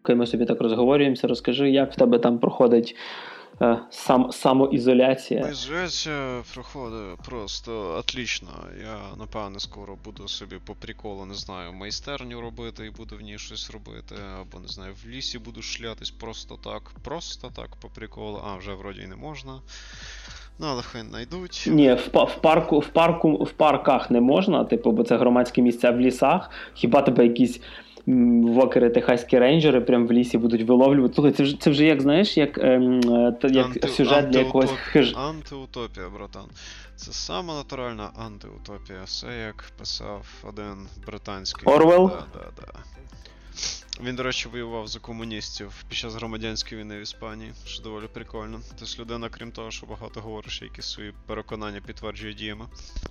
Ми собі так розговорюємося. Розкажи, як в тебе там проходить самоізоляція? Ізоляція проходить просто отлично. Я, напевне, скоро буду собі по приколу, не знаю, майстерню робити і буду в ній щось робити, або, не знаю, в лісі буду шлятись просто так, по приколу. А, вже вроді й не можна. Ну, але хай знайдуть. Ні, в парках не можна, типу, бо це громадські місця в лісах. Хіба тебе якісь вокери, техаські рейнджери прям в лісі будуть виловлювати? Слухай, це вже як, знаєш, як сюжет для якогось Антиутопія, братан. Це сама натуральна антиутопія. Все як писав один британський... Орвелл? Да. Він, до речі, воював за комуністів під час громадянської війни в Іспанії, що доволі прикольно. Тобто людина, крім того, що багато говориш, якісь свої переконання підтверджує діями.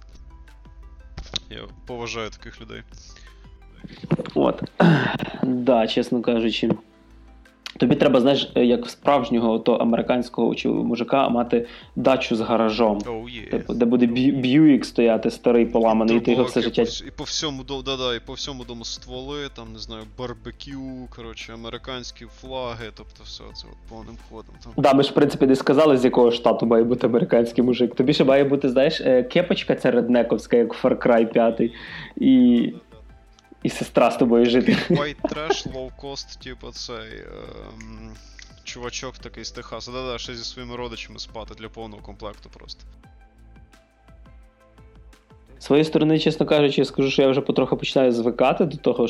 Я поважаю таких людей. От. Да, чесно кажучи. Тобі треба, знаєш, як в справжнього американського мужика мати дачу з гаражом. Типу, де буде Бьюік стояти старий, поламаний, і ти його все життя... І по всьому дому стволи, там, не знаю, барбекю, коротше, американські флаги, тобто все це от повним ходом. Там. Да, ми ж, в принципі, не сказали, з якого штату має бути американський мужик. Тобі ще має бути, знаєш, кепочка ця реднековська, як в Far Cry 5, і сестра з тобою жити. White trash, low cost, типу цей чувачок такий з Техасу. Да-да, ще зі своїми родичами спати для повного комплекту просто. З своєї сторони, чесно кажучи, я скажу, що я вже потроху починаю звикати до того,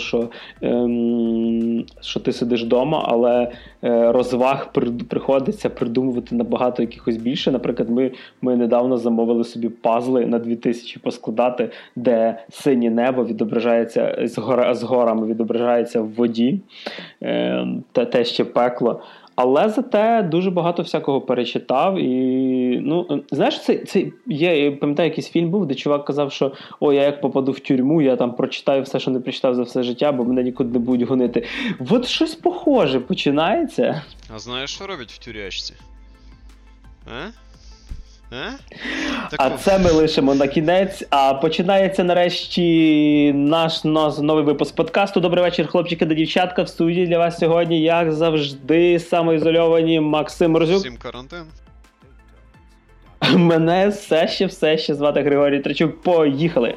що ти сидиш вдома, але розваг приходиться придумувати набагато якихось більше. Наприклад, ми недавно замовили собі пазли на 2000 поскладати, де синє небо відображається з горами, відображається в воді, те ще пекло. Але зате дуже багато всякого перечитав і, ну, знаєш, я пам'ятаю, якийсь фільм був, де чувак казав, що я як попаду в тюрму, я там прочитаю все, що не прочитав за все життя, бо мене нікуди не будуть гонити. От щось похоже починається. А знаєш, що роблять в тюрячці? А це ми лишимо на кінець. А починається нарешті наш новий випуск подкасту. Добрий вечір, хлопчики та дівчатка. В студії для вас сьогодні, як завжди, самоізольовані Максим Розюк. Всім карантин. Мене все ще звати Григорій Трачук. Поїхали!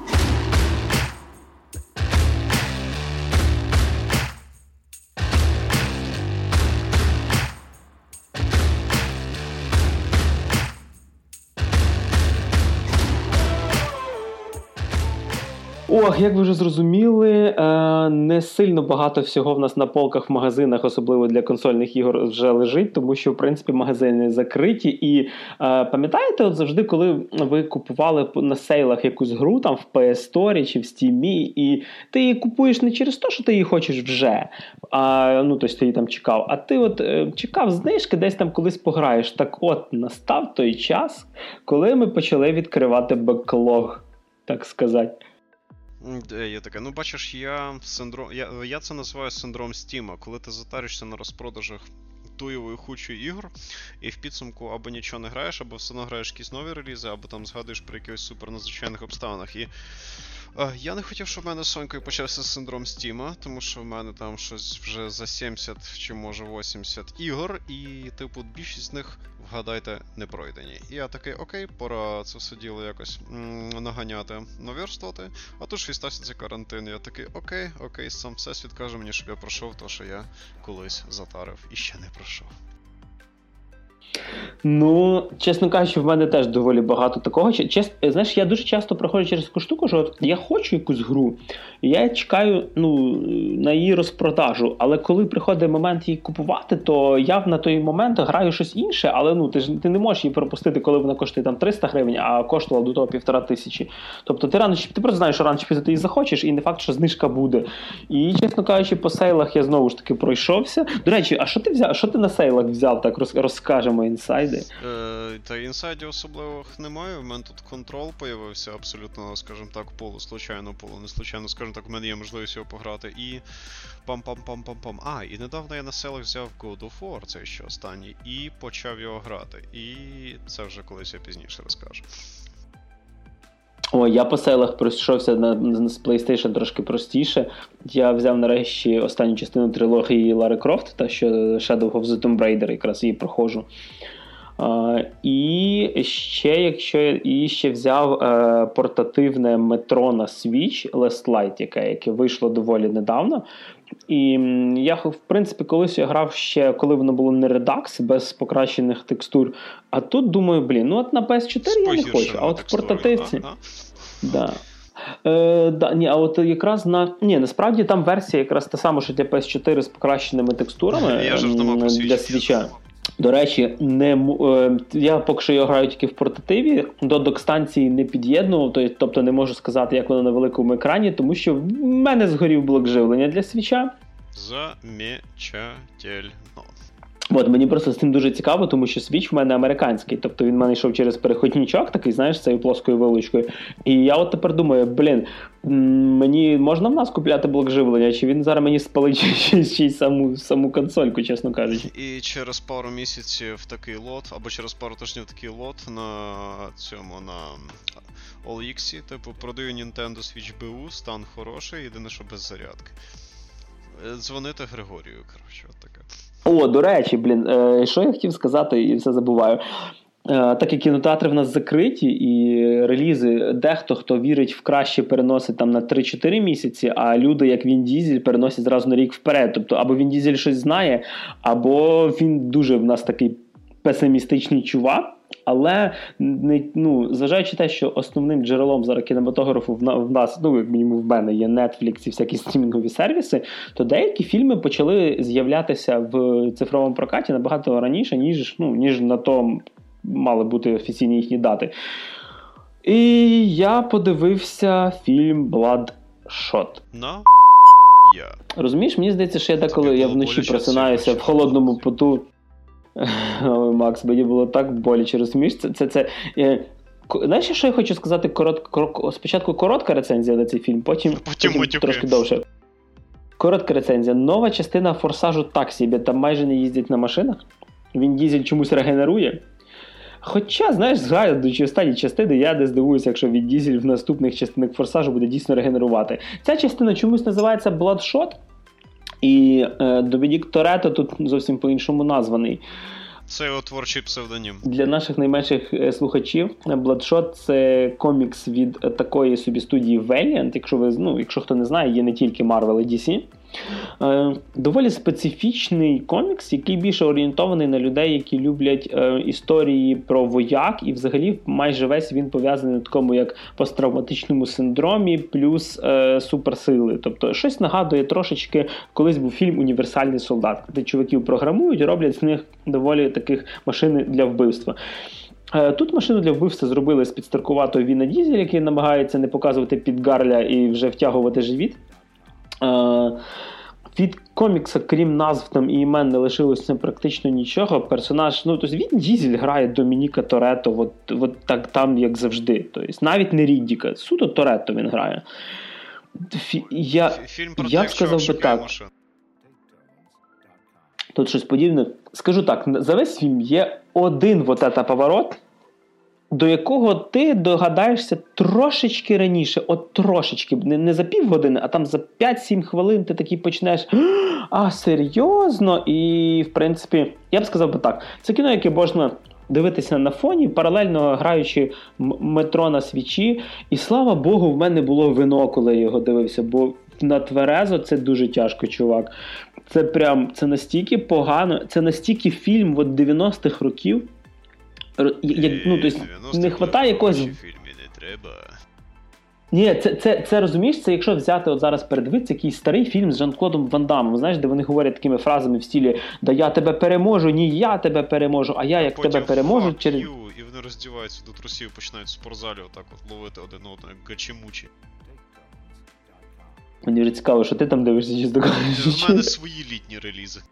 Як ви вже зрозуміли, не сильно багато всього в нас на полках в магазинах, особливо для консольних ігор, вже лежить, тому що, в принципі, магазини закриті. І пам'ятаєте, от завжди, коли ви купували на сейлах якусь гру, там в PS Store чи в Steam, і ти її купуєш не через те, що ти її хочеш вже, тобто ти її там чекав, а ти от чекав знижки, десь там колись пограєш. Так от, настав той час, коли ми почали відкривати беклог, так сказати. Є таке. Ну, бачиш, я це називаю синдром Стіма, коли ти затаришся на розпродажах туєвої хучої ігор, і в підсумку або нічого не граєш, або все одно граєш якісь нові релізи, або там згадуєш про якихось супернадзвичайних обставинах. І я не хотів, щоб в мене з Сонькою почався синдром Стіма, тому що в мене там щось вже за 70 чи може 80 ігор, і типу більшість з них, вгадайте, не пройдені. І я такий, окей, пора це все діло якось наганяти, наверстувати. А тут ж і стався цей карантин, я такий, окей, сам всесвіт каже мені, щоб я пройшов те, що я колись затарив і ще не пройшов. Ну, чесно кажучи, в мене теж доволі багато такого. Знаєш, я дуже часто проходжу через таку штуку, що от я хочу якусь гру, і я чекаю на її розпродажу, але коли приходить момент її купувати, то я на той момент граю щось інше, але ти не можеш її пропустити, коли вона коштує там 300 гривень, а коштувала до того 1500. Тобто ти просто знаєш, що рано чи пізно ти її захочеш, і не факт, що знижка буде. І, чесно кажучи, по сейлах я знову ж таки пройшовся. До речі, а що ти взяв? Що ти на сейлах взяв? Так розкажемо інсайди. Та інсайдів особливих немає. У мене тут контрол появився абсолютно, скажімо так, полу не случайно, скажімо так, в мене є можливість його пограти. І пам-пам-пам-пам-пам. І недавно я на селах взяв God of War, цей ще останній, і почав його грати. І це вже колись я пізніше розкажу. Ой, я по селах пройшовся з PlayStation трошки простіше. Я взяв нарешті останню частину трилогії Лари Крофт, та що Shadow of the Tomb Raider, якраз її проходжу. І ще взяв портативне метро на Switch Last Light, яке вийшло доволі недавно. І я, в принципі, колись я грав ще, коли воно було не Redux, без покращених текстур. А тут думаю, ну от на PS4 я не хочу, а от в портативці... Да. А от якраз насправді там версія якраз та сама, що для PS4 з покращеними текстурами для Switch. До речі, я поки що граю тільки в портативі, до док-станції не під'єднував, тобто не можу сказати, як воно на великому екрані, тому що в мене згорів блок живлення для Свіча. Замечательно. От, мені просто з цим дуже цікаво, тому що Switch в мене американський, тобто він в мене йшов через переходничок такий, знаєш, з цією плоскою вилочкою. І я от тепер думаю, мені можна в нас купляти блок живлення, чи він зараз мені спалить ще й саму консольку, чесно кажучи. І через пару місяців такий лот, або через пару тижнів такий лот на OLX, типу, продаю Nintendo Switch BU, стан хороший, єдине, що без зарядки. Дзвонити Григорію, коротше, от таке. О, до речі, що я хотів сказати і все забуваю. Так як кінотеатри в нас закриті і релізи, дехто, хто вірить в краще, переносить там на 3-4 місяці, а люди, як Він Дізель, переносять зразу на рік вперед. Тобто, або Він Дізель щось знає, або він дуже в нас такий песимістичний чувак. Але, зважаючи те, що основним джерелом зараз кінематографу в нас, як мінімум в мене, є Netflix і всякі стрімінгові сервіси, то деякі фільми почали з'являтися в цифровому прокаті набагато раніше, ніж на то мали бути офіційні їхні дати. І я подивився фільм Bloodshot. Розумієш, мені здається, що я деколи я вночі просинаюся в холодному поту. Ой, Макс, мені було так боляче, розумієш? Знаєш, що я хочу сказати? Спочатку коротка рецензія на цей фільм, потім трошки довше. Коротка рецензія. Нова частина «Форсажу» так собі, там майже не їздять на машинах. Він Дізель чомусь регенерує. Хоча, знаєш, згадуючи останні частини, я не здивуюся, якщо Він Дізель в наступних частинах «Форсажу» буде дійсно регенерувати. Ця частина чомусь називається «Bloodshot», і Домінік Торетто тут зовсім по-іншому названий. Це його творчий псевдонім. Для наших найменших слухачів Bloodshot – це комікс від такої собі студії Valiant, якщо хто не знає, є не тільки Marvel і DC. Доволі специфічний комікс, який більше орієнтований на людей, які люблять історії про вояк, і взагалі майже весь він пов'язаний на такому як посттравматичному синдромі плюс суперсили. Тобто щось нагадує трошечки, колись був фільм «Універсальний солдат», де чуваків програмують і роблять з них доволі таких машин для вбивства. Тут машину для вбивства зробили з підстаркуватого Віна Дізеля, який намагається не показувати підгарля і вже втягувати живіт. Від комікса, крім назв там і імен, не лишилося практично нічого. Персонаж, тобто Він Дізель грає Домініка Торетто, от так там, як завжди. Тобто, навіть не Ріддіка, суто Торетто він грає. Фільм про те, що шукає машин. Тут щось подібне. Скажу так, за весь фільм є один поворот, до якого ти догадаєшся трошечки раніше, от трошечки, не за півгодини, а там за 5-7 хвилин ти такий почнеш, серйозно? І, в принципі, я б сказав так, це кіно, яке можна дивитися на фоні, паралельно граючи метро на Свічі, і слава Богу, в мене було вино, коли я його дивився, бо на тверезо це дуже тяжко, чувак. Це настільки погано, це настільки фільм 90-х років, не хватає якогось... Фільмі не треба. Ні, це розумієш, це якщо взяти от зараз передивитися якийсь старий фільм з Жан-Клодом Ван Дамом, знаєш, де вони говорять такими фразами в стилі «Да я тебе переможу, ні я тебе переможу, а я як тебе переможу через...» І вони роздіваються до трусів і починають в спортзалі отак от ловити один одного, як гачимучі. Мені вже цікаво, що ти там дивишся, чисто кажучи. У мене свої літні релізи.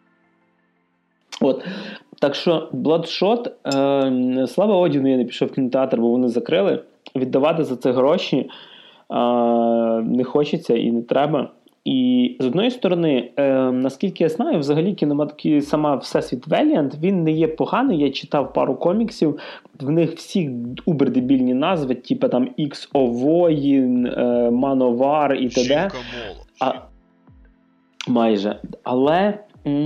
От. Так що Bloodshot, слава Одіну, я не пішов в кінотеатр, бо вони закрили. Віддавати за це гроші не хочеться і не треба. І з одної сторони, наскільки я знаю, взагалі сама Всесвіт Valiant, він не є поганий. Я читав пару коміксів, в них всі убер-дебільні назви, типу там XO Воїн, Мановар і т.д. Майже. Але,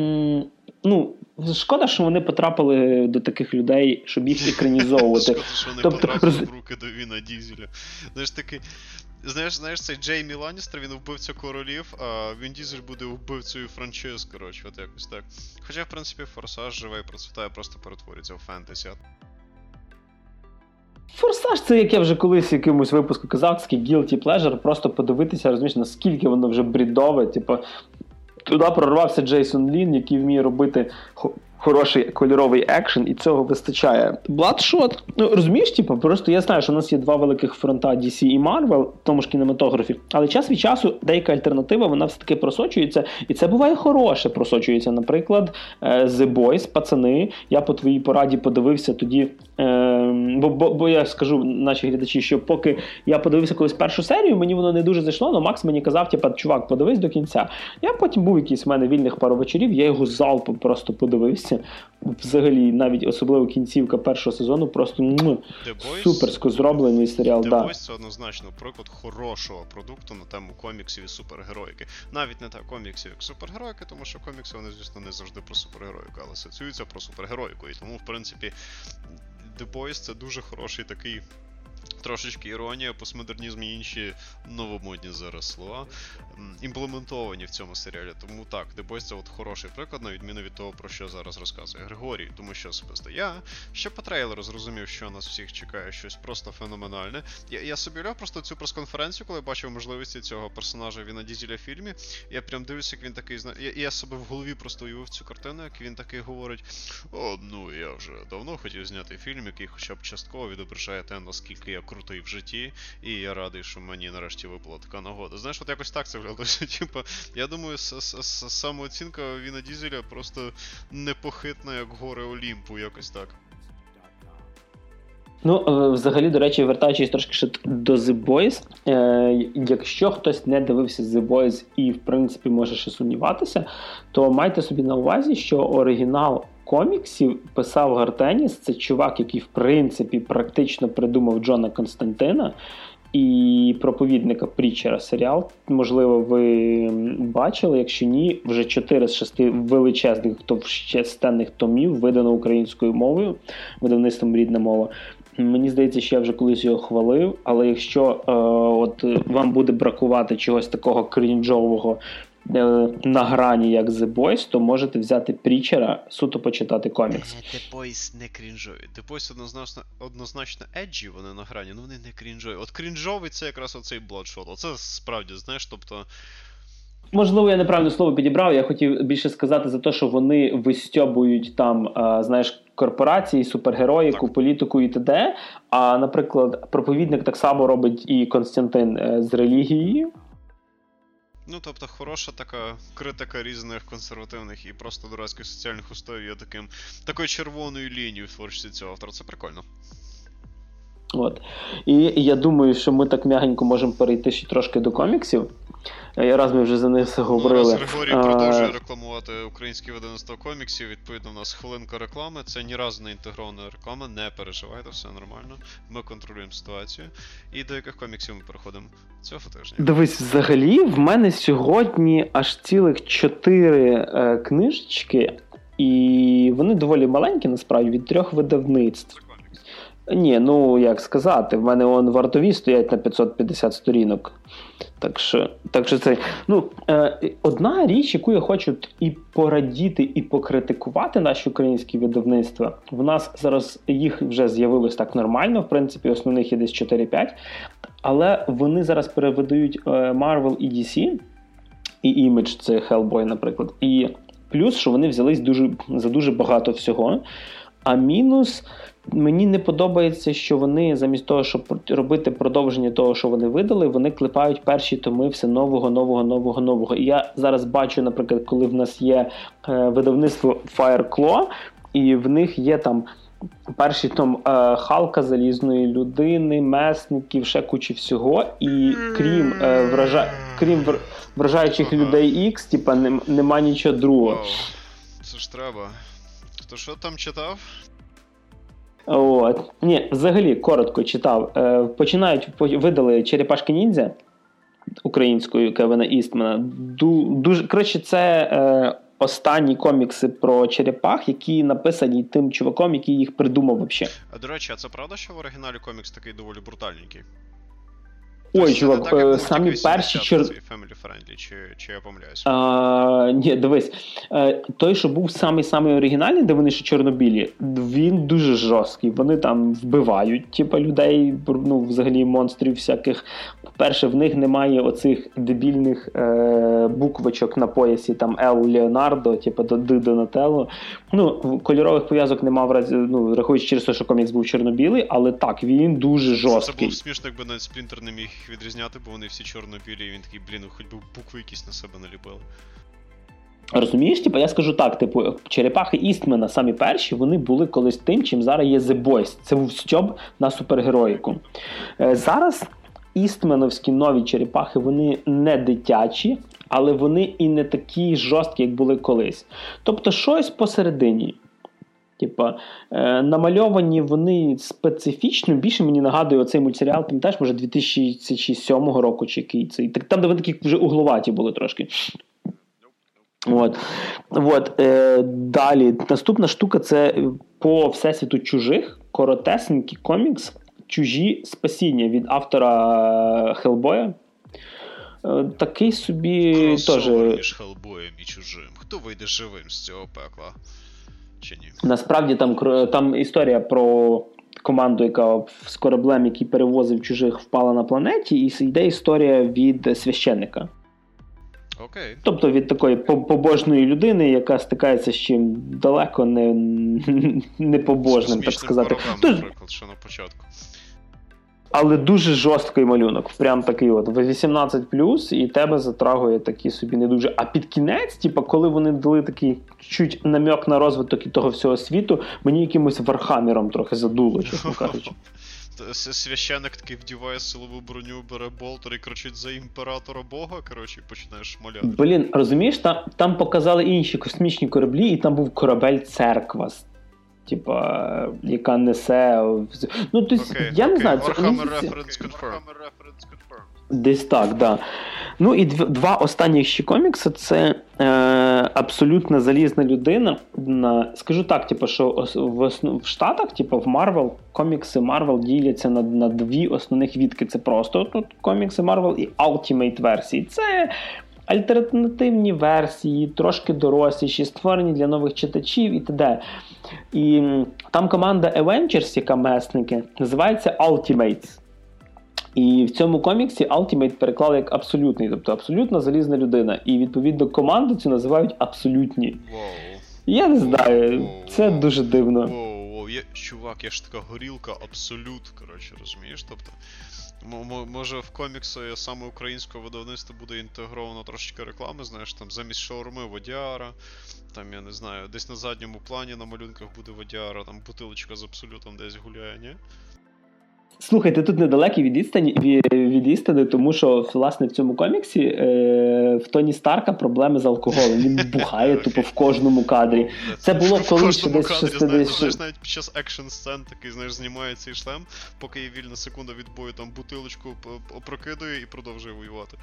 шкода, що вони потрапили до таких людей, щоб їх екранізовувати. Шкода, що вони потрапили в руки до Віна Дізеля. Знаєш, такий... Знаєш, цей Джеймі Ланністер, він вбивця королів, а Він Дізель буде вбивцею франчиз, коротше, от якось так. Хоча, в принципі, Форсаж живе і процвітає, просто перетворюється в фентезі. Форсаж — це, як я вже колись в якомусь випуску казав, такий guilty pleasure, просто подивитися, розумієш, наскільки воно вже брідове, типу, туди прорвався Джейсон Лін, який вміє робити хороший кольоровий екшен, і цього вистачає. Bloodshot, розумієш, типу, просто я знаю, що у нас є два великих фронта DC і Marvel, в тому ж кінематографі, але час від часу деяка альтернатива, вона все-таки просочується, і це буває хороше просочується. Наприклад, The Boys, пацани, я по твоїй пораді подивився тоді, бо я скажу наші глядачі, що поки я подивився колись першу серію, мені воно не дуже зайшло, але Макс мені казав, типу, чувак, подивись до кінця. Я потім був якийсь в мене вільних пару вечорів, я його залпом просто подивився. Взагалі, навіть особливо кінцівка першого сезону, просто суперсько зроблений серіал. The Boys — це однозначно приклад хорошого продукту на тему коміксів і супергероїки. Навіть не так коміксів, як супергероїки, тому що комікси, вони, звісно, не завжди про супергероїку, але асоціюються про супергероїку. І тому, в принципі, The Boys — це дуже хороший такий трошечки іронія, постмодернізм і інші новомодні зараз слова імплементовані в цьому серіалі. Тому так, The Boys — це от хороший приклад, на відміну від того, про що зараз розказує Григорій. Тому що особисто я ще по трейлеру зрозумів, що нас всіх чекає щось просто феноменальне. Я собі уявляв просто цю прес-конференцію, коли бачив можливості цього персонажа Віна Дізеля в фільмі. Я прям дивлюся, як він такий... Я себе в голові просто уявив цю картину, як він такий говорить: я вже давно хотів зняти фільм, який хоча б частково відображає те, наскільки я крутий в житті, і я радий, що мені нарешті випала така нагода. Знаєш, от якось так це виглядає. Типа, я думаю, самооцінка Віна Дізеля просто непохитна, як гори Олімпу, якось так. Взагалі, до речі, вертаючись трошки ще до The Boys, якщо хтось не дивився The Boys і, в принципі, може ще сумніватися, то майте собі на увазі, що оригінал коміксів писав Гартеніс. Це чувак, який, в принципі, практично придумав Джона Константина і проповідника Прітчера серіал. Можливо, ви бачили, якщо ні, вже 4 з 6 величезних товщестенних томів видано українською мовою, видавництвом «Рідна мова». Мені здається, що я вже колись його хвалив, але якщо вам буде бракувати чогось такого крінжового на грані, як The Boys, то можете взяти Прітчера, суто почитати комікс. The Boys не крінжові. The Boys однозначно еджі, вони на грані, але вони не крінжові. От крінжовий — це якраз оцей Bloodshot. Оце справді, знаєш, тобто... Можливо, я неправильне слово підібрав. Я хотів більше сказати за те, що вони вистьобують там, корпорації, супергероїку, політику і т.д. А, наприклад, проповідник так само робить і Константин з релігією. Тобто, хороша така критика різних консервативних і просто дурацьких соціальних устоїв є такою червоною лінією в творчості цього автора. Це прикольно. І я думаю, що ми так м'ягенько можемо перейти ще трошки до коміксів. Раз ми вже за них говорили. Раз Григорій продовжує рекламувати українське видавництво коміксів, відповідно, у нас хвилинка реклами. Це ні разу не інтегрована реклама, не переживайте, все нормально. Ми контролюємо ситуацію. І до яких коміксів ми переходимо цього тижня? Дивись, взагалі, в мене сьогодні аж цілих 4 книжечки, і вони доволі маленькі, насправді, від 3 видавництв. Ні, як сказати, в мене вартові стоять на 550 сторінок. Так що це... одна річ, яку я хочу і порадіти, і покритикувати наші українські видавництва. В нас зараз їх вже з'явилось так нормально, в принципі, основних є десь 4-5, але вони зараз перевидають Marvel і DC, і Image, це Hellboy, наприклад. І плюс, що вони взялись за дуже багато всього, а мінус... Мені не подобається, що вони замість того, щоб робити продовження того, що вони видали, вони клепають перші томи все нового. І я зараз бачу, наприклад, коли в нас є видавництво Fireclaw, і в них є там перший том Халка, Залізної людини, Месників, ще кучі всього. І крім вражаючих людей X, типа, нема нічого другого. Вау. Це ж треба. Хто що там читав? От. Ні, взагалі, коротко читав. Видали «Черепашки ніндзя» українською Кевіна Істмана. Дуже, коротше, це останні комікси про черепах, які написані тим чуваком, який їх придумав взагалі. А до речі, а це правда, що в оригіналі комікс такий доволі брутальненький? Ой, чувак, самі перші Family Friendly, чи я помиляюсь? Ні, дивись. Той, що був самий оригінальний, де вони ще чорнобілі, він дуже жорсткий. Вони там вбивають, типа, людей, ну, взагалі, монстрів всяких. По-перше, в них немає оцих дебільних буквочок на поясі, там Л Леонардо, типа Д Донателло. Ну, кольорових пов'язок немає, рахуючи через те, що комікс був чорнобілий, але так, він дуже жорсткий. Це було смішно, якби навіть Сплінтер не міг їх відрізняти, бо вони всі чорно-білі, і він такий, хоч би букви якісь на себе наліпили. Розумієш, типу, я скажу так, типу, черепахи Істмена, самі перші, вони були колись тим, чим зараз є The Boys. Це був стьоб на супергероїку. Зараз істменовські нові черепахи, вони не дитячі, але вони і не такі жорсткі, як були колись. Тобто щось посередині. Типа, намальовані вони специфічно, більше мені нагадує оцей мультсеріал, пам'ятаєш, може 2007 року чи який цей. Там, де вони такі вже угловаті були трошки. Далі. Наступна штука – це по всесвіту чужих, коротесенький комікс «Чужі спасіння» від автора Хеллбоя. Такий собі теж... Кросовер між Хеллбоєм і чужим. Хто вийде живим з цього пекла? Чи ні? Насправді там історія про команду, яка з кораблем, який перевозив чужих, впала на планеті, і йде історія від священника. Окей. Тобто від такої побожної людини, яка стикається з чим далеко не побожним, так сказати. Наприклад, що на початку. Але дуже жорсткий малюнок. Прям такий от 18+, і тебе затрагує такі собі не дуже. А під кінець, типу, коли вони дали такий чуть намек на розвиток і того всього світу, мені якимось Вархаммером трохи задуло, чесно кажучи. Священник такий вдіває силову броню, бере болтер і кричить за імператора Бога, коротше, і починаєш шмаляти. Блін, розумієш, там показали інші космічні кораблі, і там був корабель церква. Типа, яка несе... Ну, тобто, я не знаю... Warhammer Reference Confirmed. Десь так, да. Ну і два останніх ще комікси, це абсолютно залізна людина. Скажу так, типу, що в Штатах, типу, в Marvel, комікси Marvel діляться на дві основних відки. Це просто тут комікси Marvel і Ultimate версії. Це альтернативні версії, трошки доросліші, створені для нових читачів і т.д. І там команда Avengers, яка месники, називається Ultimates. І в цьому коміксі Ultimate переклали як абсолютний, тобто абсолютно залізна людина. І відповідно команду цю називають абсолютні. Я не знаю, це дуже дивно. Чувак, я ж така горілка абсолют, коротше, розумієш? Тобто, може в коміксі саме українського видавництва буде інтегровано трошечки реклами, знаєш, там замість шаурми водяра, там, я не знаю, десь на задньому плані на малюнках буде водяра, там бутилочка з абсолютом десь гуляє, ні? Слухай, ти тут недалекий від істини, тому що, власне, в цьому коміксі в Тоні Старка проблеми з алкоголем. Він бухає тупо в кожному кадрі. Це було колись ще десь 60... Знаєш, навіть під час екшн-сцен такий, знаєш, знімає цей шлем, поки є вільна секунда від бою, там бутилочку опрокидує і продовжує воювати.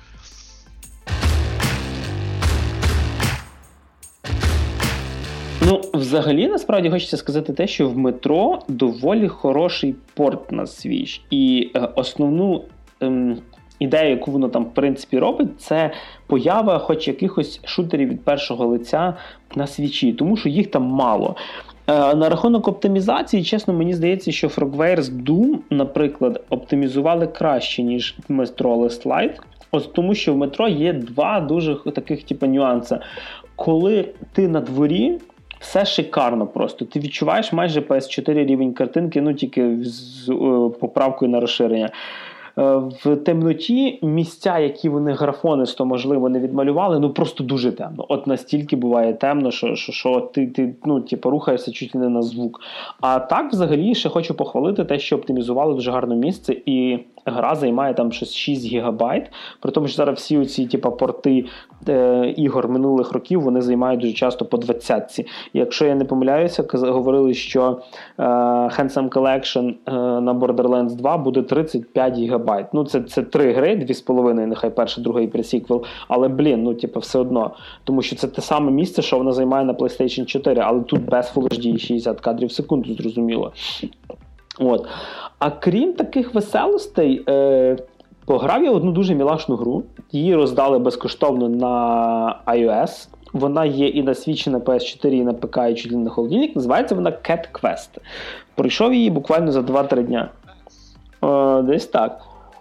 Ну, взагалі, насправді, хочеться сказати те, що в метро доволі хороший порт на свіж. І основну ідею, яку воно там, в принципі, робить, це поява хоч якихось шутерів від першого лиця на свічі, тому що їх там мало. На рахунок оптимізації, чесно, мені здається, що Frogwares Doom, наприклад, оптимізували краще, ніж Metro Last Light. Ось тому, що в метро є два дуже таких типу нюанси. Коли ти на дворі, все шикарно просто. Ти відчуваєш майже PS4 рівень картинки, ну тільки з поправкою на розширення. В темноті місця, які вони графонисто, можливо, не відмалювали, ну просто дуже темно. От настільки буває темно, що ти ну, типу, рухаєшся чуть не на звук. А так, взагалі, ще хочу похвалити те, що оптимізували дуже гарне місце, і гра займає там щось 6 гігабайт, при тому, що зараз всі оці типу, порти ігор минулих років, вони займають дуже часто по 20. І якщо я не помиляюся, говорили, що Handsome Collection на Borderlands 2 буде 35 гігабайт. Ну, це 3 гри, 2,5, нехай перша, друга і пресіквел, але, ну, типу, все одно. Тому що це те саме місце, що вона займає на PlayStation 4, але тут без Full HD 60 кадрів в секунду, зрозуміло. От. А крім таких веселостей, пограв я одну дуже мілашну гру. Її роздали безкоштовно на iOS. Вона є і на Switch, і на PS4, і на ПК, і чуть ли на холодильник. Називається вона Cat Quest. Пройшов її буквально за 2-3 дня. Десь так.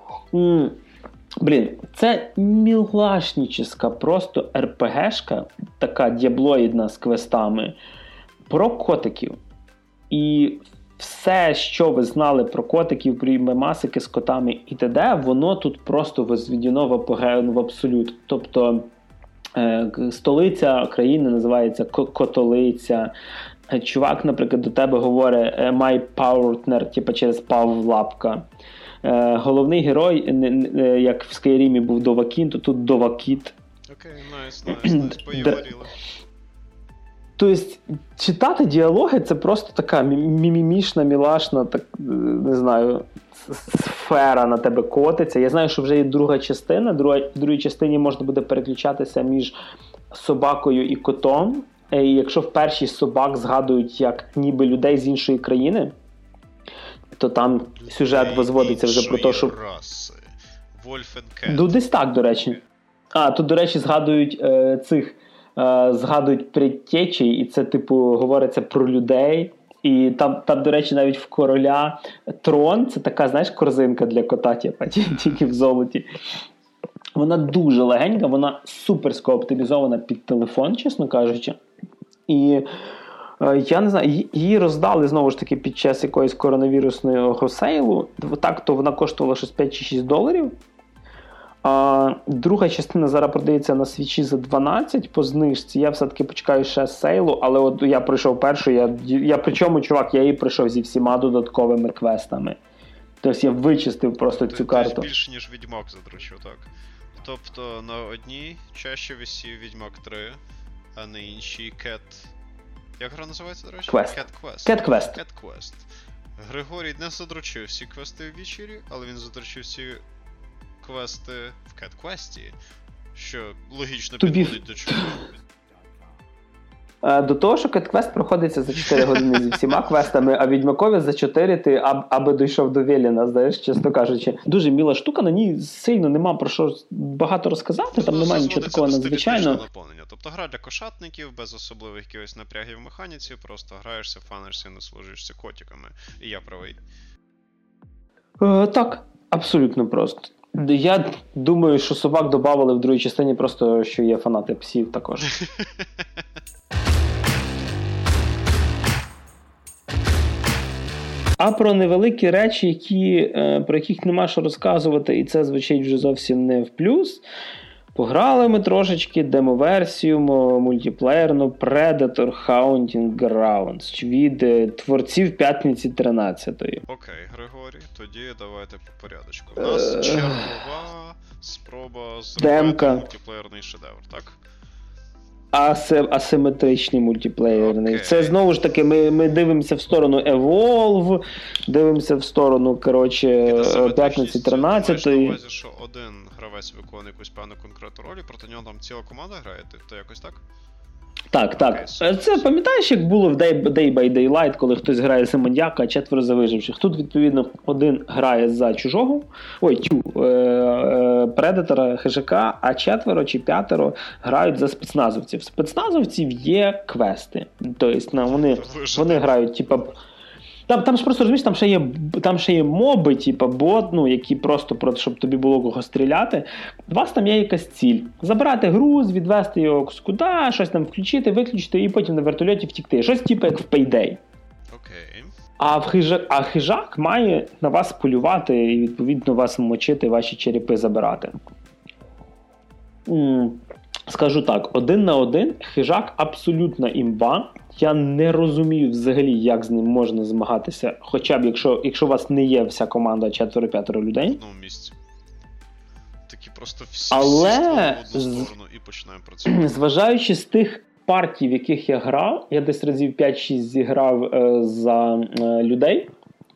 Блін, це мілашніческа просто РПГшка, така діаблоїдна з квестами, про котиків. І все, що ви знали про котиків, про мемасики з котами і т.д., воно тут просто возведено в апогею, в абсолют. Тобто столиця країни називається Котолиця. Чувак, наприклад, до тебе говорить «my partner», типу через Павлапка. Головний герой, як в Скайрімі був Довакін, то тут Довакіт. Окей, найс, поговорили. Тобто, читати діалоги – це просто така мімімішна, мілашна, так, не знаю, сфера на тебе котиться. Я знаю, що вже є друга частина. В другій частині можна буде переключатися між собакою і котом. І якщо в першій собак згадують як ніби людей з іншої країни, то там сюжет возводиться вже про те, що... Ну, десь так, до речі. Тут, до речі, згадують предтечі, і це, типу, говориться про людей. І там, до речі, навіть в короля трон, це така, знаєш, корзинка для кота, тільки в золоті. Вона дуже легенька, вона суперсько оптимізована під телефон, чесно кажучи. І я не знаю, її роздали, знову ж таки, під час якоїсь коронавірусного сейлу. Так, то вона коштувала щось 5 чи 6 доларів. Друга частина зараз продається на Свічі за 12 по знижці. Я все-таки почекаю ще сейлу, але от я пройшов першу, я причому, чувак, я її пройшов зі всіма додатковими квестами. Тобто я вичистив просто цю карту. Більше, ніж Відьмак задручив, так. Тобто на одній чаще висів Відьмак 3, а на іншій Cat... Як гра називається, до речі? Cat Quest. Григорій не задручив всі квести в Вічері, але він задручив всі квести в Cat Quest, що логічно підходить до чого. До того, що Cat Quest проходиться за 4 години зі всіма квестами, а Відьмакові за 4 ти аби дійшов до Веліна, знаєш, чесно кажучи. Дуже міла штука, на ній сильно нема про що багато розказати, там немає нічого такого надзвичайного. Тобто гра для кошатників, без особливих якихось напрягів в механіці, просто граєшся, фанишся і насолоджуєшся котиками. І я правий. Так, абсолютно просто. Я думаю, що собак додавали в другій частині просто, що є фанати псів також. А про невеликі речі, про яких нема що розказувати, і це звучить вже зовсім не в плюс. Пограли ми трошечки демоверсію мультиплеєрну Predator Hunting Grounds від творців П'ятниці 13-ї. Окей, Григорій, тоді давайте по порядочку. У нас чергова спроба зробити мультиплеєрний шедевр, так? Асиметричний мультиплеєрний. Це знову ж таки, ми дивимося в сторону Evolve, дивимося в сторону, П'ятниці 13-ї. Маєш на увазі, що один гравець виконує якусь певну конкретну роль, і проти нього там ціла команда грає, то якось так? Так. Це пам'ятаєш, як було в Day by Daylight, коли хтось грає за маньяка, а 4 за виживших. Тут, відповідно, один грає за чужого, предатора, хижака, а 4 чи 5 грають за спецназовців. В спецназовців є квести. Тобто, вони грають, Там ж просто, розумієш, там ще є моби, бот, які просто, щоб тобі було кого стріляти. У вас там є якась ціль. Забрати груз, відвести його куди, щось там включити, виключити і потім на вертольоті втікти. Щось як в Payday. Окей. А хижак має на вас полювати і, відповідно, вас мочити, ваші черепи забирати. Скажу так, 1 на 1 хижак абсолютна імба. Я не розумію взагалі, як з ним можна змагатися, хоча б якщо у вас не є вся команда 4-5 людей. В одному місці. Такі просто всі Але в одну сторону і починаємо працювати. Зважаючи з тих партій, в яких я грав, я десь разів 5-6 зіграв за людей,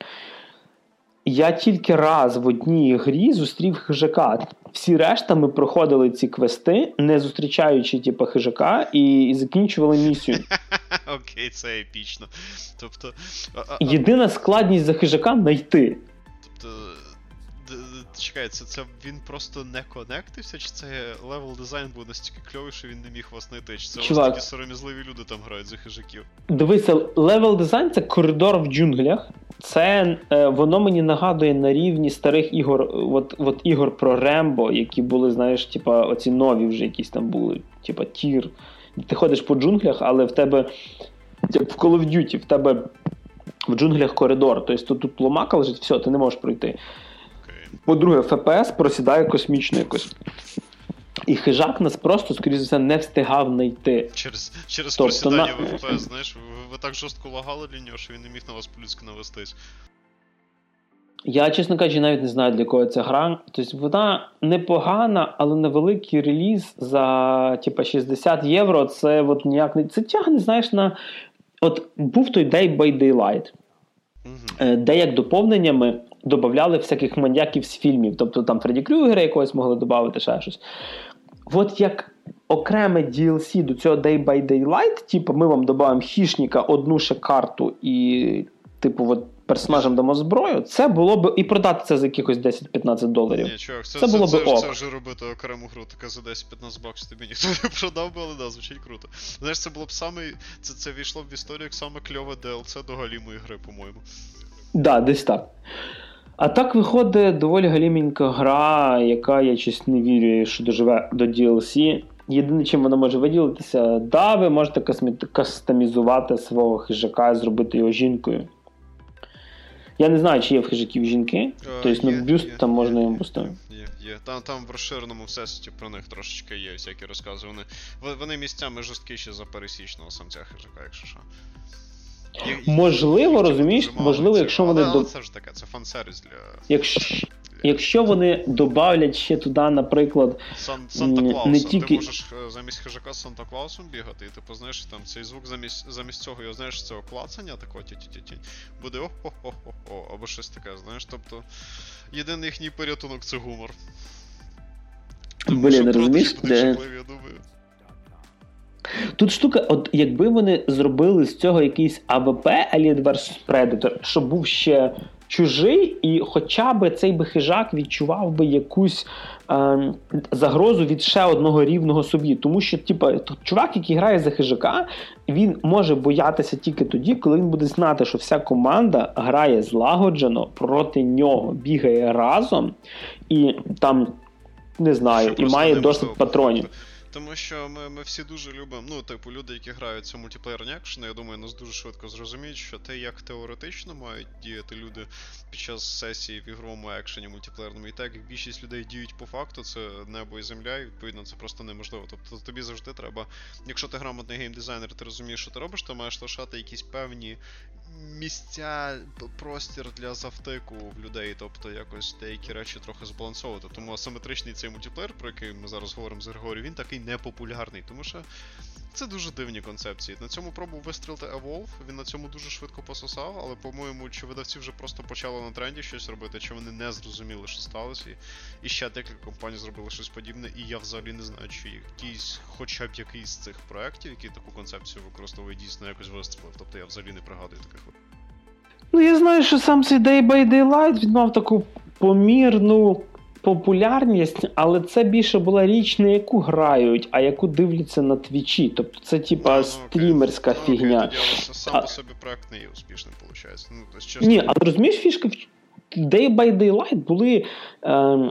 я тільки раз в одній грі зустрів хижака. Всі решта ми проходили ці квести, не зустрічаючи хижака, і закінчували місію. Окей, це епічно. Тобто... Єдина складність за хижака – знайти. Тобто... Чекай, це він просто не конектився, чи це левел дизайн був настільки кльовий, що він не міг вас знайти? Чи це у вас такі сором'язливі люди там грають за хижаків? Дивися, левел дизайн – це коридор в джунглях. Це, воно мені нагадує на рівні старих ігор, от ігор про Рембо, які були, знаєш, оці нові вже якісь там були, тір. Ти ходиш по джунглях, але в тебе, в Call of Duty, в тебе в джунглях коридор. Тобто тут ломака лежить, все, ти не можеш пройти. По-друге, ФПС просідає космічно якось. І хижак нас просто, скоріше за все, не встигав знайти. Через просідання в ФПС, знаєш, ви так жорстко лагали для нього, що він не міг на вас по-людськи навестись. Я, чесно кажучи, навіть не знаю, для кого ця гра. Тобто вона непогана, але на великий реліз за 60 євро це от ніяк не... Це тягне, знаєш, на... От був той Day by Daylight, де як доповненнями додавали всяких маньяків з фільмів. Тобто там Фредді Крюгера якогось могли додати, ще щось. От як окреме DLC до цього Day by Daylight, ми вам додаємо хищника, одну ще карту і, персонажам дамо зброю, це було б, і продати це за якихось $10-15. Ні, чувак, це було б ок. Це вже робити окрему гру, така за 10-15 баксів тобі ніхто не продав би, але да, звучить круто. Знаєш, це було б це війшло б в історію як саме кльове DLC до галімої гри, по-моєму. Да, десь так. А так виходить доволі галімінька гра, яка, я щось не вірю, що доживе до DLC. Єдине, чим вона може виділитися, да, ви можете кастомізувати свого хижака і зробити його жінкою. Я не знаю, чи є в хижаків жінки, тобто бюст там можна їм поставити. Є. Там в розширеному всесвіті про них трошечки є всякі розкази. Вони місцями жорсткіші за пересічного самця хижака, якщо що. Можливо, розумієш, можливо, якщо вони... Але це ж таке, це фан-сервіс для... Якщо вони добавлять ще туди, наприклад, Санта-Клауса, не тільки... ти можеш замість хижака з Санта-Клаусом бігати, і ти знаєш, там цей звук замість цього, його, знаєш, цього клацання, такого ті-ті-ті-ті, буде о-хо-хо-хо-хо, або щось таке, знаєш, тобто, єдиний їхній порятунок – це гумор. Блін, розумієш? Я думаю. Тут штука, от якби вони зробили з цього якийсь АВП, Alien vs Predator, щоб був ще чужий, і хоча б цей би хижак відчував би якусь загрозу від ще одного рівного собі. Тому що, чувак, який грає за хижака, він може боятися тільки тоді, коли він буде знати, що вся команда грає злагоджено проти нього, бігає разом, і там, не знаю, і має досить патронів. Тому що ми всі дуже любимо, люди, які грають цю мультиплеєрні екшени, я думаю, нас дуже швидко зрозуміють, що те, як теоретично мають діяти люди під час сесії в ігровому екшені мультиплеєрному, і так, як більшість людей діють по факту, це небо і земля, і відповідно це просто неможливо. Тобто тобі завжди треба, якщо ти грамотний геймдизайнер, ти розумієш, що ти робиш, ти маєш лишати якісь певні місця, простір для завтику в людей, тобто якось деякі речі трохи збалансовувати. Тому асиметричний цей мультиплеєр, про який ми зараз говоримо з Григорієм, він такий непопулярний, тому що це дуже дивні концепції. На цьому пробував вистрілити Evolve, він на цьому дуже швидко пососав, але, по-моєму, чи видавці вже просто почали на тренді щось робити, чи вони не зрозуміли, що сталося, і ще декілька компаній зробили щось подібне, і я взагалі не знаю, чи якийсь, хоча б якийсь з цих проєктів, який таку концепцію використовує, дійсно якось вистрілив. Тобто я взагалі не пригадую таких. Я знаю, що сам цей Day by Daylight, він мав таку помірну популярність, але це більше була річ, не яку грають, а яку дивляться на твічі. Тобто це стрімерська фігня. Тоді, але сам по собі проект не є успішним, виходить. Ні, але розумієш, фішка в Day by Daylight були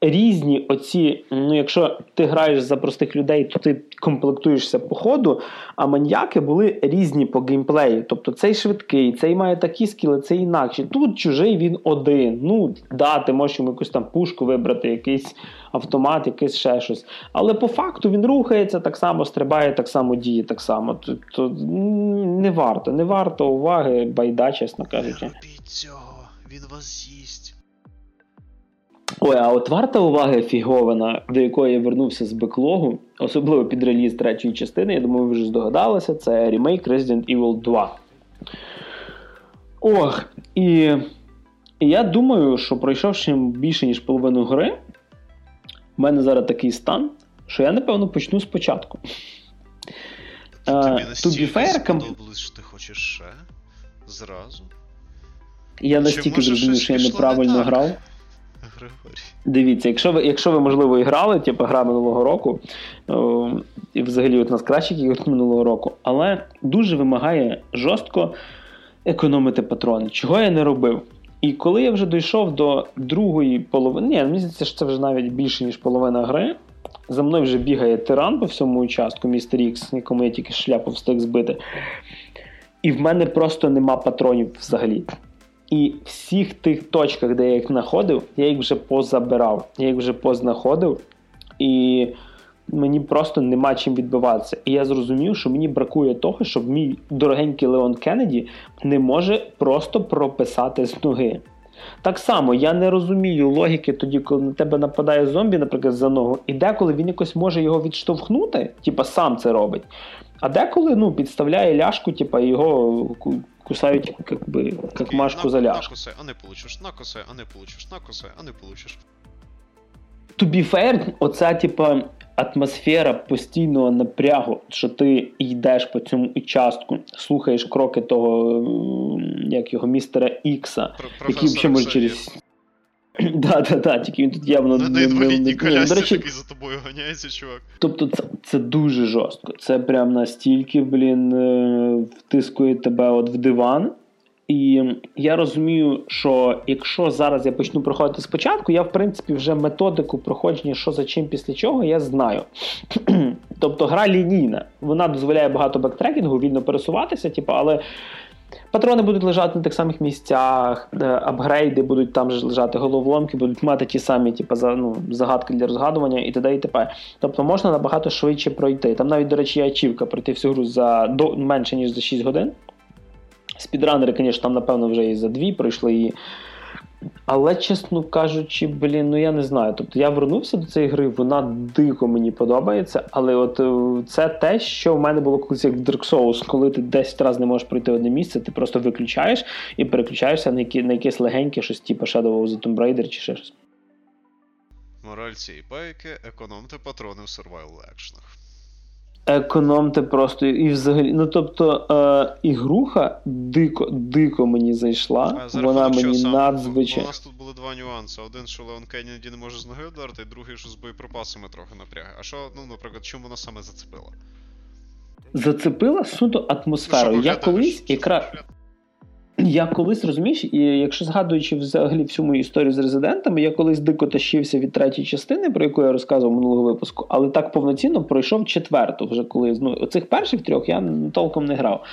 різні оці, якщо ти граєш за простих людей, то ти комплектуєшся по ходу, а маньяки були різні по геймплею. Тобто цей швидкий, цей має такі скіли, цей інакші. Тут чужий він один. Ти можеш йому якусь там пушку вибрати, якийсь автомат, якийсь ще щось. Але по факту він рухається так само, стрибає так само, діє так само. То не варто уваги, байда, чесно кажучи. Не робіть цього, він вас з'їсть. Ой, а от варта уваги фіговина, до якої я вернувся з беклогу, особливо під реліз третьої частини, я думаю, ви вже здогадалися, це ремейк Resident Evil 2. І я думаю, що пройшовши більше, ніж половину гри, в мене зараз такий стан, що я, напевно, почну спочатку. Тобі настільки сподобалось, що ти хочеш ще? Зразу? Я настільки зрозумів, що я неправильно грав. Григорій. Дивіться, якщо ви, можливо, і грали, типу гра минулого року, і взагалі от нас кращих ігор минулого року, але дуже вимагає жорстко економити патрони, чого я не робив. І коли я вже дійшов до другої половини, мені здається, що це вже навіть більше, ніж половина гри, за мною вже бігає тиран по всьому участку, містер Ікс, якому я тільки шляпу встиг збити. І в мене просто нема патронів взагалі. І всіх тих точках, де я їх знаходив, я їх вже позабирав. Я їх вже познаходив. І мені просто нема чим відбиватися. І я зрозумів, що мені бракує того, щоб мій дорогенький Леон Кеннеді не може просто прописати з ноги. Так само, я не розумію логіки тоді, коли на тебе нападає зомбі, наприклад, за ногу, і деколи він якось може його відштовхнути, сам це робить, а деколи, підставляє ляшку, і його кусають, як машку за ляшку. Накусай, а не получиш, накусай, а не получиш, накусай, а не получиш. To be fair, оця, атмосфера постійного напрягу, що ти йдеш по цьому участку, слухаєш кроки того, як його, містера Ікса, який взагалі може через... тільки він тут явно... На інвалідній колясці такий за тобою ганяється, чувак. Тобто це дуже жорстко. Це прям настільки, втискує тебе в диван. І я розумію, що якщо зараз я почну проходити спочатку, я, в принципі, вже методику проходження, що за чим, після чого, я знаю. Тобто гра лінійна. Вона дозволяє багато бектрекінгу, вільно пересуватися, але патрони будуть лежати на тих самих місцях, апгрейди будуть там же лежати, головоломки будуть мати ті самі загадки для розгадування і т.д. і т.п. Тобто можна набагато швидше пройти. Там навіть, до речі, є ачівка пройти всю гру за менше, ніж за 6 годин. Спідранери, звісно, там, напевно, вже і за 2 пройшли її. Але, чесно кажучи, я не знаю. Тобто я вернувся до цієї гри, вона дико мені подобається, але от це те, що в мене було колись як в Dark Souls, коли ти 10 разів не можеш пройти одне місце, ти просто виключаєш і переключаєшся на якесь легеньке щось, типу Shadow of the Tomb Raider чи ще щось. Мораль цієї байки – економте патрони в survival-екшенах. Економте просто, і взагалі, ігруха дико мені зайшла, вона мені надзвичайно. У нас тут були два нюанси. Один, що Леон Кеннеді не може з ноги вдарити, і другий, що з боєприпасами трохи напрягає. А що, наприклад, чому вона саме зацепила? Зацепила суто атмосферою. Я колись, розумієш, і якщо згадуючи взагалі всю мою історію з резидентами, я колись дико тащився від третьої частини, про яку я розказував минулого випуску, але так повноцінно пройшов четверту, вже коли, оцих перших 3 я толком не грав.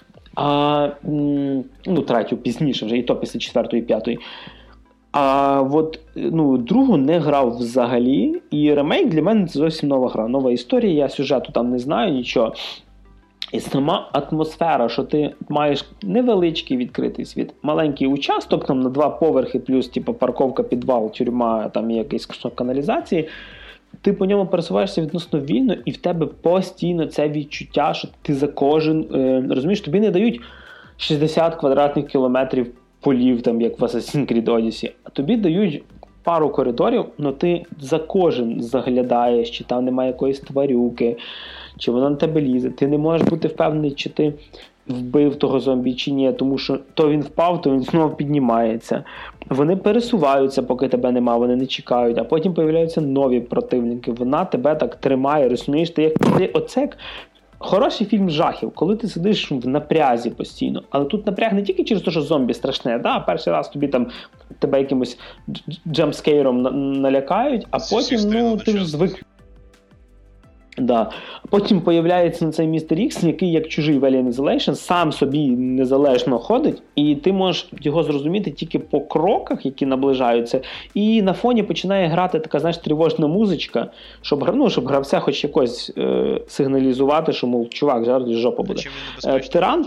Третю пізніше вже, і то після 4-ї і 5-ї. А от, другу не грав взагалі, і ремейк для мене це зовсім нова гра, нова історія, я сюжету там не знаю, нічого. І сама атмосфера, що ти маєш невеличкий відкритий світ, маленький участок, там на 2 поверхи, плюс парковка, підвал, тюрма, там є якийсь кусок каналізації, ти по ньому пересуваєшся відносно вільно, і в тебе постійно це відчуття, що ти за кожен, розумієш, тобі не дають 60 квадратних кілометрів полів, там, як в Assassin's Creed Odyssey, а тобі дають пару коридорів, але ти за кожен заглядаєш, чи там немає якоїсь тварюки, чи вона на тебе лізе. Ти не можеш бути впевнений, чи ти вбив того зомбі, чи ні, тому що то він впав, то він знову піднімається. Вони пересуваються, поки тебе нема, вони не чекають, а потім появляються нові противники. Вона тебе так тримає, розумієш? Ти як Хороший фільм жахів, коли ти сидиш в напрязі постійно. Але тут напряг не тільки через те, що зомбі страшне, перший раз тобі там тебе якимось джемпскейром налякають, а потім, ти ж звик. Да. А потім появляється на цей Містер Ікс, який, як чужий в Alien Isolation, сам собі незалежно ходить, і ти можеш його зрозуміти тільки по кроках, які наближаються, і на фоні починає грати така, знаєш, тривожна музичка, щоб гравця хоч якось сигналізувати, що, мов, чувак, зараз жопа буде. Тиран,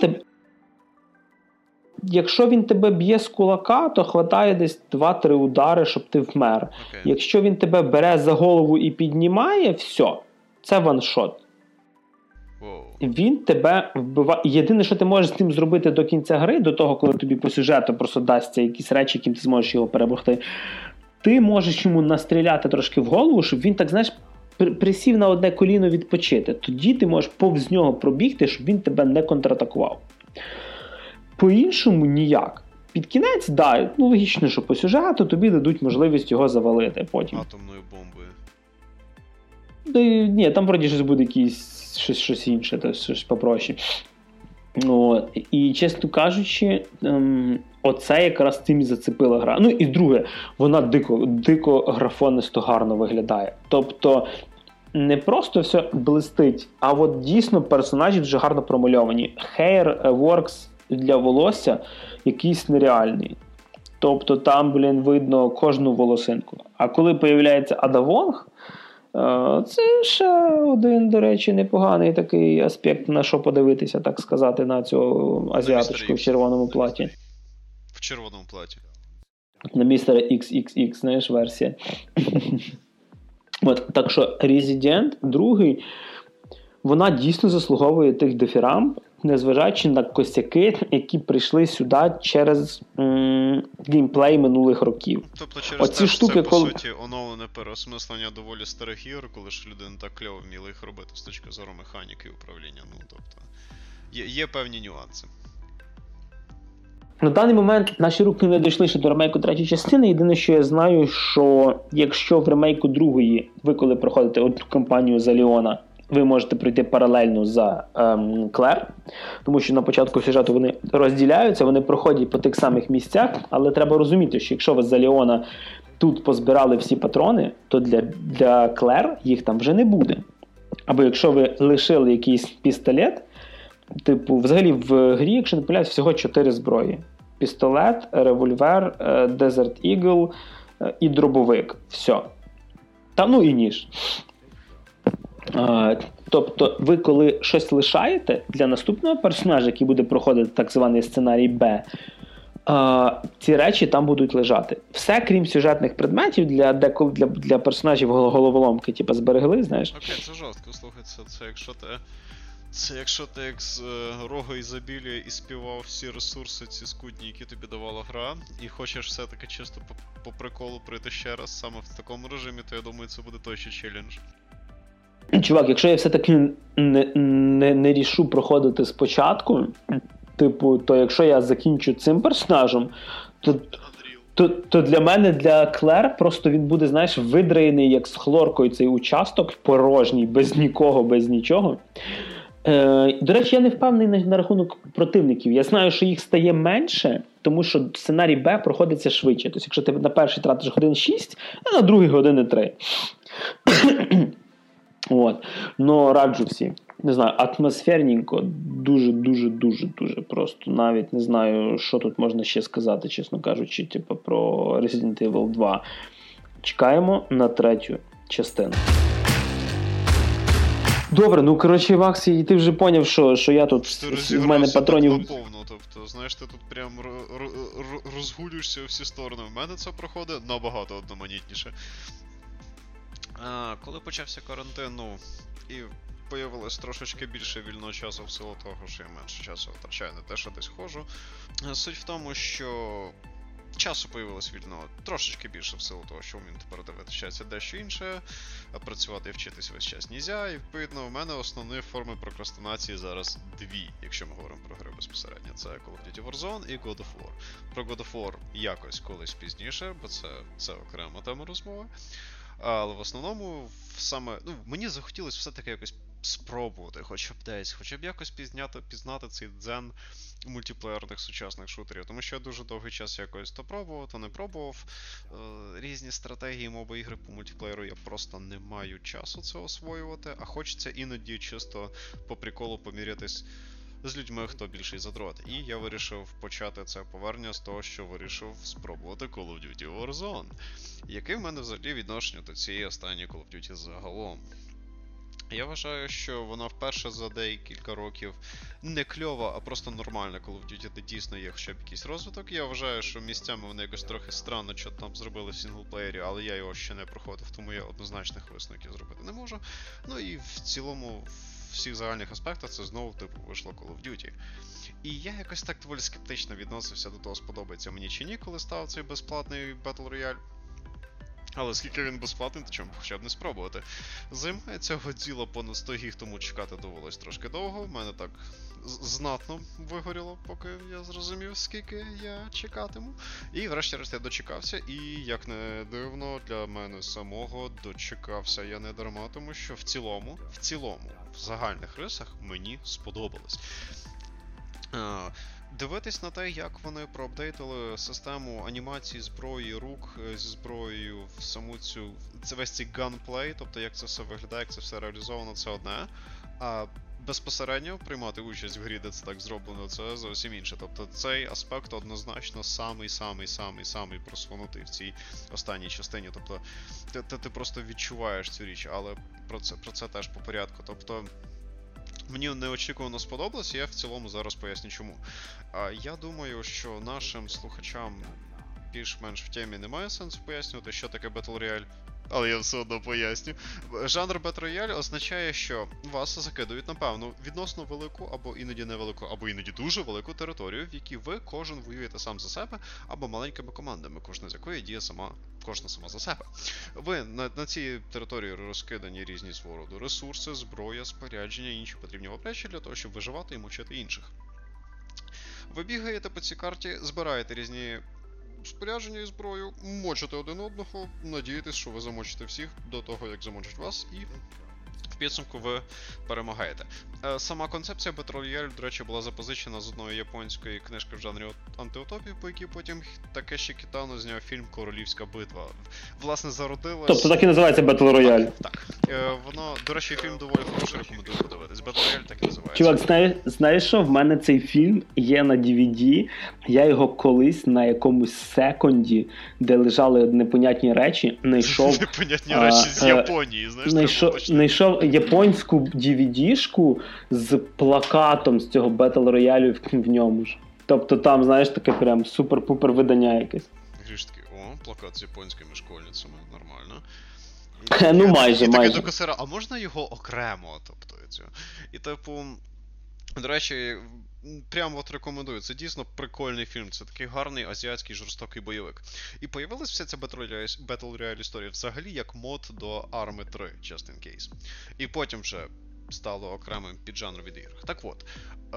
якщо він тебе б'є з кулака, то хватає десь 2-3 удари, щоб ти вмер. Okay. Якщо він тебе бере за голову і піднімає, все. Це ваншот. Він тебе вбиває. Єдине, що ти можеш з ним зробити до кінця гри, до того, коли тобі по сюжету просто дасться якісь речі, яким ти зможеш його перемогти, ти можеш йому настріляти трошки в голову, щоб він, так знаєш, присів на одне коліно відпочити. Тоді ти можеш повз нього пробігти, щоб він тебе не контратакував. По-іншому ніяк. Під кінець, логічно, що по сюжету тобі дадуть можливість його завалити потім. Атомною бомбою. Ні, там вроді щось буде щось інше, щось попроще. І, чесно кажучи, оце якраз цим і зацепила гра. Ну і друге, вона дико графонисто гарно виглядає. Тобто не просто все блистить, а от дійсно персонажі дуже гарно промальовані. Hairworks для волосся якийсь нереальний. Тобто там, видно кожну волосинку. А коли появляється Ада Вонг, це ще один, до речі, непоганий такий аспект, на що подивитися, так сказати, на цю азіаточку в червоному платі. В червоному платі. На містера XXX, знаєш, версія. Так що Resident 2, вона дійсно заслуговує тих дифірамб, незважаючи на косяки, які прийшли сюди через геймплей минулих років. Тобто через те, що це, по суті, оновлене переосмислення доволі старих ігор, коли ж люди не так кльово вміли їх робити з точки зору механіки і управління. Тобто, є певні нюанси. На даний момент наші руки не дійшли ще до ремейку третьої частини. Єдине, що я знаю, що якщо в ремейку другої, ви коли проходите одну кампанію за Леона, ви можете пройти паралельно за Клер, тому що на початку сюжету вони розділяються, вони проходять по тих самих місцях, але треба розуміти, що якщо ви за Леона тут позбирали всі патрони, то для Клер їх там вже не буде. Або якщо ви лишили якийсь пістолет, взагалі в грі, якщо не помиляюсь, всього 4 зброї. Пістолет, револьвер, Desert Eagle і дробовик. Все. І ніж. Тобто ви коли щось лишаєте для наступного персонажа, який буде проходити так званий сценарій Б, ці речі там будуть лежати. Все, крім сюжетних предметів, для персонажів головоломки, зберегли, знаєш. Окей, це жорстко, слухайте, це якщо ти як з рога ізобілія і співав всі ресурси ці скудні, які тобі давала гра, і хочеш все-таки чисто по приколу прийти ще раз саме в такому режимі, то я думаю, це буде той ще челендж. Чувак, якщо я все-таки не рішу проходити спочатку, то якщо я закінчу цим персонажем, то для мене, для Клер, просто він буде, знаєш, видраєний, як з хлоркою цей участок, порожній, без нікого, без нічого. До речі, я не впевнений на рахунок противників. Я знаю, що їх стає менше, тому що сценарій Б проходиться швидше. Тобто, якщо ти на перший тратиш годин 6, а на другий години 3. Раджу всі. Не знаю, атмосферненько, дуже просто. Навіть не знаю, що тут можна ще сказати, чесно кажучи, про Resident Evil 2. Чекаємо на третю частину. Добре, Макс, і ти вже поняв, що я тут, в мене патронів... Тобто, знаєш, ти тут прям розгулюєшся у всі сторони. В мене це проходить набагато одноманітніше. Коли почався карантин, і появилось трошечки більше вільного часу в силу того, що я менше часу втрачаю на те, що десь ходжу. Суть в тому, що часу появилось вільного трошечки більше в силу того, що вмім тепер дивитися дещо інше, а працювати і вчитись весь час нельзя, і відповідно в мене основні форми прокрастинації зараз дві, якщо ми говоримо про гри безпосередньо. Це Call of Duty Warzone і God of War. Про God of War якось колись пізніше, бо це окрема тема розмови. Але в основному мені захотілося все-таки якось спробувати, хоча б десь, хоча б якось пізнати цей дзен мультиплеєрних сучасних шутерів. Тому що я дуже довгий час якось то пробував, то не пробував. Різні стратегії моби ігри по мультиплеєру я просто не маю часу це освоювати, а хочеться іноді чисто по приколу помірятись з людьми, хто більший задрот. І я вирішив почати це повернення з того, що вирішив спробувати Call of Duty Warzone. Яке в мене взагалі відношення до цієї останньої Call of Duty загалом? Я вважаю, що вона вперше за декілька років не кльова, а просто нормальна Call of Duty, де дійсно є хоча б якийсь розвиток. Я вважаю, що місцями вони якось трохи странно, що там зробили в сінглплеєрі, але я його ще не проходив, тому я однозначних висновків зробити не можу. Ну і в цілому, в всіх загальних аспектах це знову типу вийшло Call of Duty. І я якось так доволі скептично відносився до того, сподобається мені чи ні, коли став цей безплатний Battle Royale. Але скільки він безплатний, то чому хоча б не спробувати. Займає цього діла понад 100 гіг, тому чекати довелось трошки довго. В мене так знатно вигоріло, поки я зрозумів, скільки я чекатиму. І врешті-решт я дочекався, і, як не дивно, для мене самого дочекався я не дарма, тому що в цілому, в загальних рисах мені сподобалось. Дивитись на те, як вони проапдейтили систему анімації зброї рук зі зброєю в саму цю весь цей gunplay, тобто як це все виглядає, як це все реалізовано, це одне. А безпосередньо приймати участь в грі, де це так зроблено, це зовсім інше. Тобто цей аспект однозначно самий просунутий в цій останній частині. Тобто ти просто відчуваєш цю річ, але про це теж по порядку. Тобто мені неочікувано сподобалось, і я в цілому зараз поясню чому. Я думаю, що нашим слухачам більш-менш в темі немає сенсу пояснювати, що таке Battle Royale, але я все одно поясню. Жанр Battle Royale означає, що вас закидують на певну відносно велику, або іноді невелику, або іноді дуже велику територію, в якій ви кожен воюєте сам за себе, або маленькими командами, кожна з якої діє кожна сама за себе. Ви на цій території розкидані різні свого роду ресурси, зброя, спорядження і інші потрібні вам речі для того, щоб виживати і мучити інших. Ви бігаєте по цій карті, збираєте різні спорядження і зброю, мочите один одного, надієтесь, що ви замочите всіх до того, як замочать вас, і в підсумку ви перемагаєте. Сама концепція Battle Royale, до речі, була запозичена з одної японської книжки в жанрі антиутопії, по якій потім Такеші Кітано зняв фільм «Королівська битва». Власне, зародилась... Тобто так і називається Battle Royale? Так. Воно, до речі, фільм доволі хороший, рекомендую подивитись. Battle Royale так і називається. Чувак, знаєш що? В мене цей фільм є на DVD. Я його колись на якомусь секунді, де лежали непонятні речі, знайшов... Непонятні речі з Японії, знаєш? Знайшов японську DVD-шку з плакатом з цього Battle Royale в ньому ж. Тобто там, знаєш, таке прям супер-пупер видання якесь. Гріш такий, плакат з японськими школьницями, нормально. Ну майже. Такий до касира, а можна його окремо? Тобто, і типу, до речі, прямо от рекомендую, це дійсно прикольний фільм, це такий гарний азіатський жорстокий бойовик. І появилась вся ця Battle Royale історія взагалі як мод до Army 3, just in case. І потім вже стало окремим піджанром від ігр. Так от,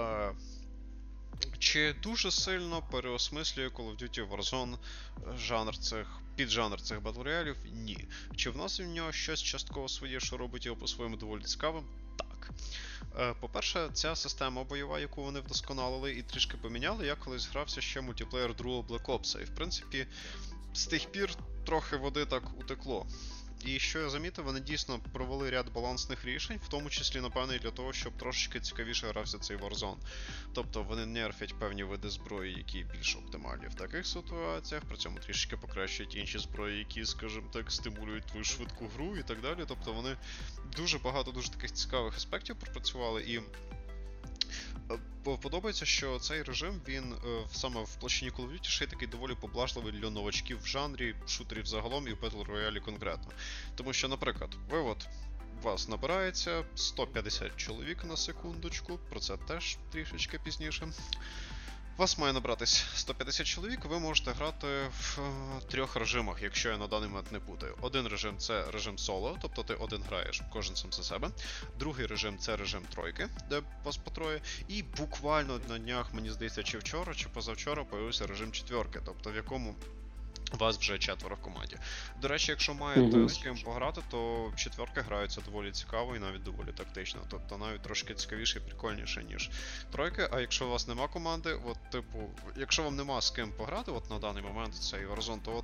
чи дуже сильно переосмислює Call of Duty Warzone піджанр цих Battle Royale? Ні. Чи вносить в нього щось частково своє, що робить його по-своєму доволі цікавим? Так. По-перше, ця система бойова, яку вони вдосконалили і трішки поміняли, я колись грався ще мультиплеєр другого Black Ops, і в принципі з тих пір трохи води так утекло. І що я замітив, вони дійсно провели ряд балансних рішень, в тому числі, напевно, і для того, щоб трошечки цікавіше грався цей Warzone. Тобто вони нерфять певні види зброї, які більш оптимальні в таких ситуаціях, при цьому трішечки покращують інші зброї, які, скажімо так, стимулюють твою швидку гру і так далі. Тобто вони дуже багато дуже таких цікавих аспектів пропрацювали, і подобається, що цей режим, він саме в площині Call of Duty ще й такий доволі поблажливий для новачків в жанрі, шутерів загалом і в Battle Royale конкретно. Тому що, наприклад, вас набирається 150 чоловік на секундочку, про це теж трішечки пізніше. Вас має набратись 150 чоловік, ви можете грати в 3 режимах, якщо я на даний момент не путаю. Один режим – це режим соло, тобто ти один граєш, кожен сам за себе. Другий режим – це режим тройки, де вас по троє. І буквально на днях, мені здається, чи вчора, чи позавчора, появився режим четверки, тобто в якому вас вже 4 в команді. До речі, якщо маєте з ким пограти, то четверки граються доволі цікаво і навіть доволі тактично. Тобто навіть трошки цікавіше і прикольніше, ніж тройки. А якщо у вас нема команди, от типу, якщо вам нема з ким пограти, от на даний момент цей Warzone, то от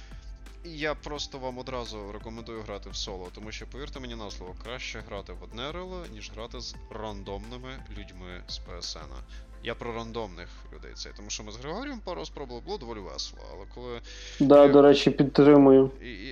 я просто вам одразу рекомендую грати в соло, тому що, повірте мені на слово, краще грати в одне рело, ніж грати з рандомними людьми з PSN. Я про рандомних людей цей, тому що ми з Григорієм пару спробували, було доволі весело, але коли... Да, до речі, підтримую.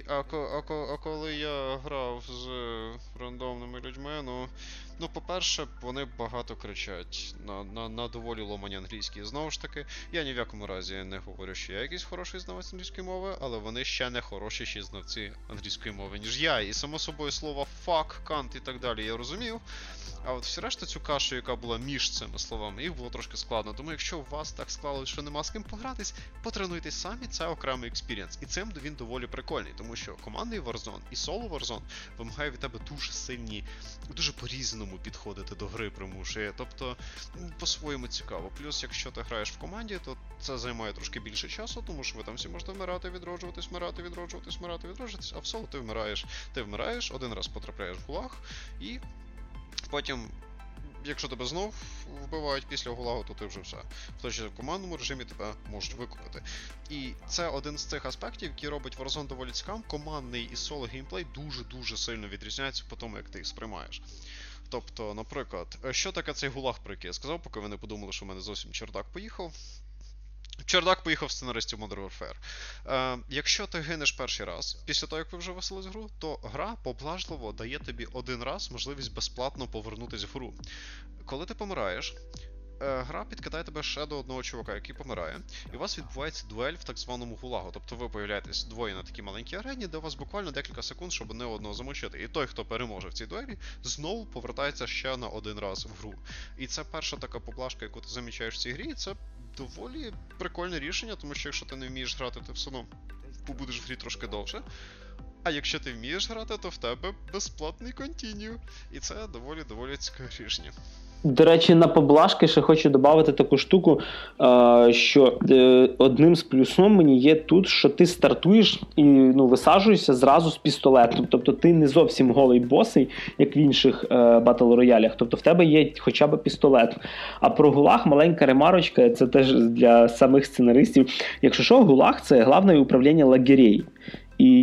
А коли я грав з рандомними людьми, ну по-перше, вони багато кричать на доволі ломані англійській. Знову ж таки, я ні в якому разі не говорю, що я якийсь хороший знавець англійської мови, але вони ще не хорошіші знавці англійської мови, ніж я. І само собою слова fuck, cunt і так далі я розумів. А от всі решта цю кашу, яка була між цими словами, їх було трошки складно. Тому якщо у вас так склалося, що нема з ким погратись, потренуйтесь самі, це окремий експірієнс. І цим він доволі прикольний, тому що командний Warzone і соло Warzone вимагає від тебе дуже сильні, дуже по-різному підходити до гри примушує. Тобто, по-своєму цікаво. Плюс, якщо ти граєш в команді, то це займає трошки більше часу, тому що ви там всі можете вмирати, відроджуватись, а в соло ти вмираєш, один раз потрапляєш в гулаг, і потім, якщо тебе знов вбивають після гулагу, то ти вже все. В той же командному режимі тебе можуть викупити. І це один з цих аспектів, який робить Warzone доволі цікавим. Командний і соло геймплей дуже-дуже сильно відрізняються по тому, як ти їх сприймаєш. Тобто, наприклад, що таке цей гулаг, про який я сказав, поки ви не подумали, що в мене зовсім чердак поїхав. Чердак поїхав сценаристів Modern Warfare. Якщо ти гинеш перший раз, після того, як ви вже веселись в гру, то гра поблажливо дає тобі один раз можливість безплатно повернутися в гру. Коли ти помираєш, гра підкидає тебе ще до одного чувака, який помирає, і у вас відбувається дуель в так званому гулагу. Тобто ви появляєтесь двоє на такій маленькій арені, де у вас буквально декілька секунд, щоб не одного замочити. І той, хто переможе в цій дуелі, знову повертається ще на один раз в гру. І це перша така поблажка, яку ти замічаєш в цій грі, і це доволі прикольне рішення, тому що якщо ти не вмієш грати, ти все одно побудеш в грі трошки довше. А якщо ти вмієш грати, то в тебе безплатний континю. І це доволі цікаве рішення. До речі, на поблажки ще хочу додати таку штуку, що одним з плюсом мені є тут, що ти стартуєш і висаджуєшся зразу з пістолетом. Тобто ти не зовсім голий босий, як в інших батл-роялях. Тобто в тебе є хоча б пістолет. А про гулаг маленька ремарочка, це теж для самих сценаристів. Якщо що, гулаг – це головне управління лагерей. І,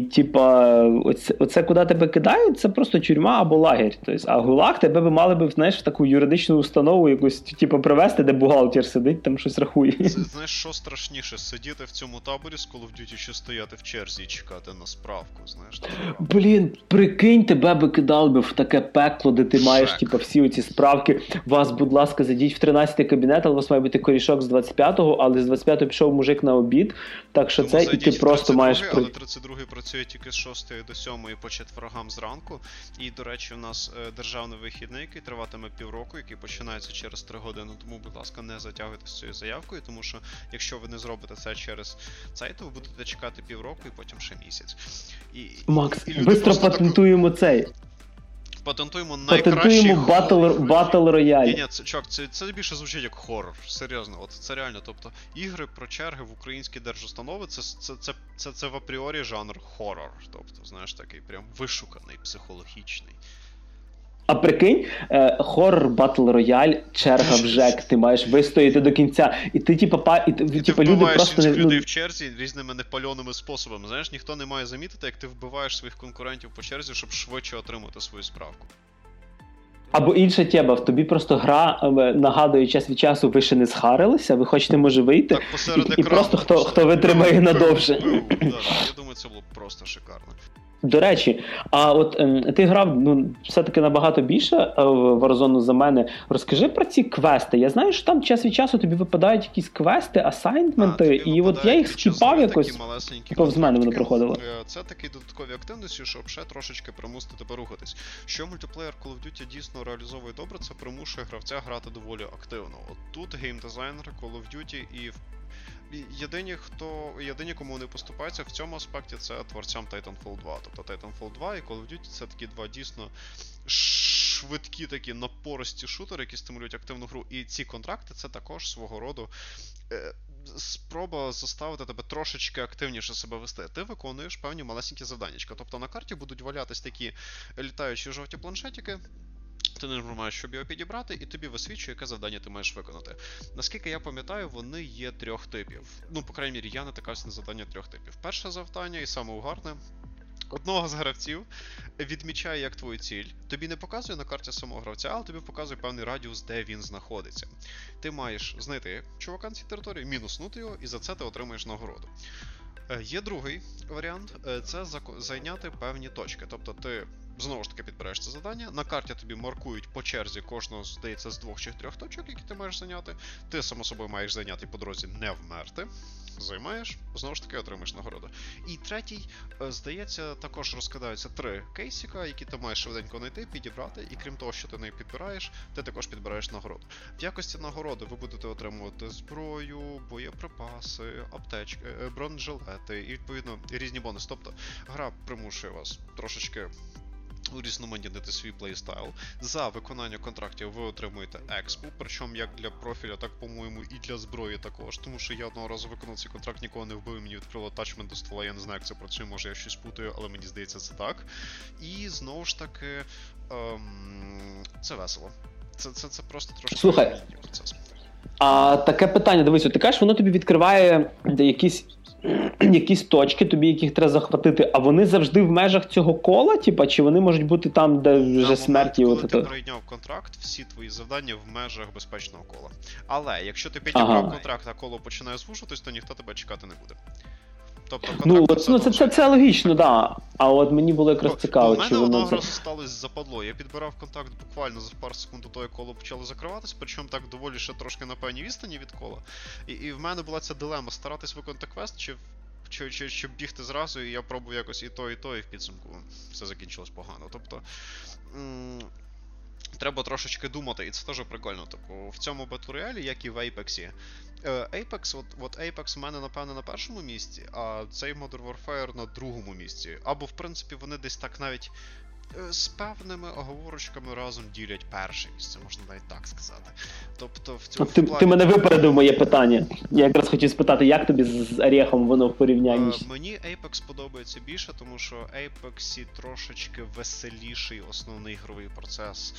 оце куди тебе кидають, це просто тюрма або лагерь. Тобто, а ГУЛАГ тебе би мали б, знаєш, в таку юридичну установу якусь, привезти, де бухгалтер сидить, там щось рахує. Це, знаєш, що страшніше, сидіти в цьому таборі з Call of Duty чи стояти в черзі і чекати на справку, знаєш? Блін, прикинь, тебе би кидали би в таке пекло, де ти маєш, всі оці справки. Вас, будь ласка, зайдіть в 13-й кабінет, але у вас має бути корішок з 25-го, але з 25-го пішов мужик на обід, так що тому це, і ти просто маєш... Але 32-й працює тільки з 6 до 7 по четвергам зранку. І, до речі, у нас державний вихідний, який триватиме півроку, який починається через 3 години. Тому, будь ласка, не затягуйте з цією заявкою, тому що якщо ви не зробите це через цей, то ви будете чекати півроку і потім ще місяць. Макс, швидко патентуємо цей. Патентуємо найкращий Батл Рояль. Ні, це більше звучить як хоррор, серйозно. От це реально, тобто ігри про черги в українській держустанови, це в апріорі жанр хоррор. Тобто, знаєш, такий прям вишуканий, психологічний. А прикинь, хоррор, батл рояль, черга в ЖЕК, ти маєш вистояти до кінця, і ти ти люди просто інших людей в черзі різними непальоними способами. Знаєш, ніхто не має замітити, як ти вбиваєш своїх конкурентів по черзі, щоб швидше отримати свою справку. Або інша тема, в тобі просто гра нагадує час від часу, ви ще не схарилися, ви хочете, може, вийти, так, і просто хто витримає надовше. Я думаю, це було б просто шикарно. До речі, а от ти грав все-таки набагато більше в Warzone за мене. Розкажи про ці квести. Я знаю, що там час від часу тобі випадають якісь квести, асайнменти, і от я їх скіпав якось, повз мене воно проходило. Це такі додаткові активності, щоб ще трошечки примусити тебе рухатись. Що мультиплеєр Call of Duty дійсно реалізовує добре, це примушує гравця грати доволі активно. От тут геймдизайнери Call of Duty і єдині, кому не поступаються в цьому аспекті, це творцям Titanfall 2. Тобто Titanfall 2 і Call of Duty це такі два дійсно швидкі такі напористі шутери, які стимулюють активну гру. І ці контракти це також свого роду спроба заставити тебе трошечки активніше себе вести. Ти виконуєш певні малесенькі завданнячка. Тобто на карті будуть валятись такі літаючі жовті планшетики, ти не маєш, щоб його підібрати, і тобі висвічує, яке завдання ти маєш виконати. Наскільки я пам'ятаю, вони є 3 типів. Ну, по крайній мірі, я натикався на завдання 3 типів. Перше завдання, і саме угарне, одного з гравців відмічає як твою ціль. Тобі не показує на карті самого гравця, але тобі показує певний радіус, де він знаходиться. Ти маєш знайти чувака на цій території, мінуснути його, і за це ти отримаєш нагороду. Є другий варіант, це зайняти певні точки. Тобто ти знову ж таки підбираєш це завдання, на карті тобі маркують по черзі кожного, здається, з 2 чи 3 точок, які ти маєш зайняти. Ти, само собою, маєш зайняти по дорозі не вмерти. Займаєш, знову ж таки отримаєш нагороду. І третій, здається, також розкладаються 3 кейсика, які ти маєш швиденько знайти, підібрати, і крім того, що ти не підбираєш, ти також підбираєш нагороду. В якості нагороди ви будете отримувати зброю, боєприпаси, аптечки, бронежилети і, відповідно, різні бонуси. Тобто, гра примушує вас трошечки урізноманітнити свій плейстайл. За виконання контрактів ви отримуєте експу, причому як для профіля, так, по-моєму, і для зброї також, тому що я одного разу виконав цей контракт, нікого не вбив, мені відкрило атачмент до ствола, я не знаю, як це працює, може я щось путаю, але мені здається це так. І, знову ж таки, це весело. Це просто трошки Слухай, процес. А таке питання, дивись, ти кажеш, воно тобі відкриває якісь точки, тобі яких треба захватити, а вони завжди в межах цього кола, типа, чи вони можуть бути там, де вже смерті? Коли ти прийняв контракт, всі твої завдання в межах безпечного кола. Але якщо ти підібрав контракт, а коло починає звужуватись, то ніхто тебе чекати не буде. Тобто, це логічно, да. А от мені було якраз цікаво, чи воно... У мене одного разу сталося западло. Я підбирав контакт буквально за пару секунд до того, як коло почало закриватись, причому так доволі ще трошки на певній відстані від кола. І в мене була ця дилема, старатись виконати квест, чи бігти зразу, і я пробував якось і то, і в підсумку все закінчилось погано. Тобто, треба трошечки думати, і це теж прикольно. Типу, в цьому Battle Royale, як і в Apex. Apex, от Apex в мене, напевно, на першому місці, а цей Modern Warfare на другому місці. Або, в принципі, вони десь так навіть з певними оговорочками разом ділять перше місце, можна навіть так сказати. Тобто, в цьому плані... Ти мене випередив моє питання. Я якраз хотів спитати, як тобі з Орехом воно в порівнянні? Мені Apex подобається більше, тому що в Apex трошечки веселіший основний ігровий процес.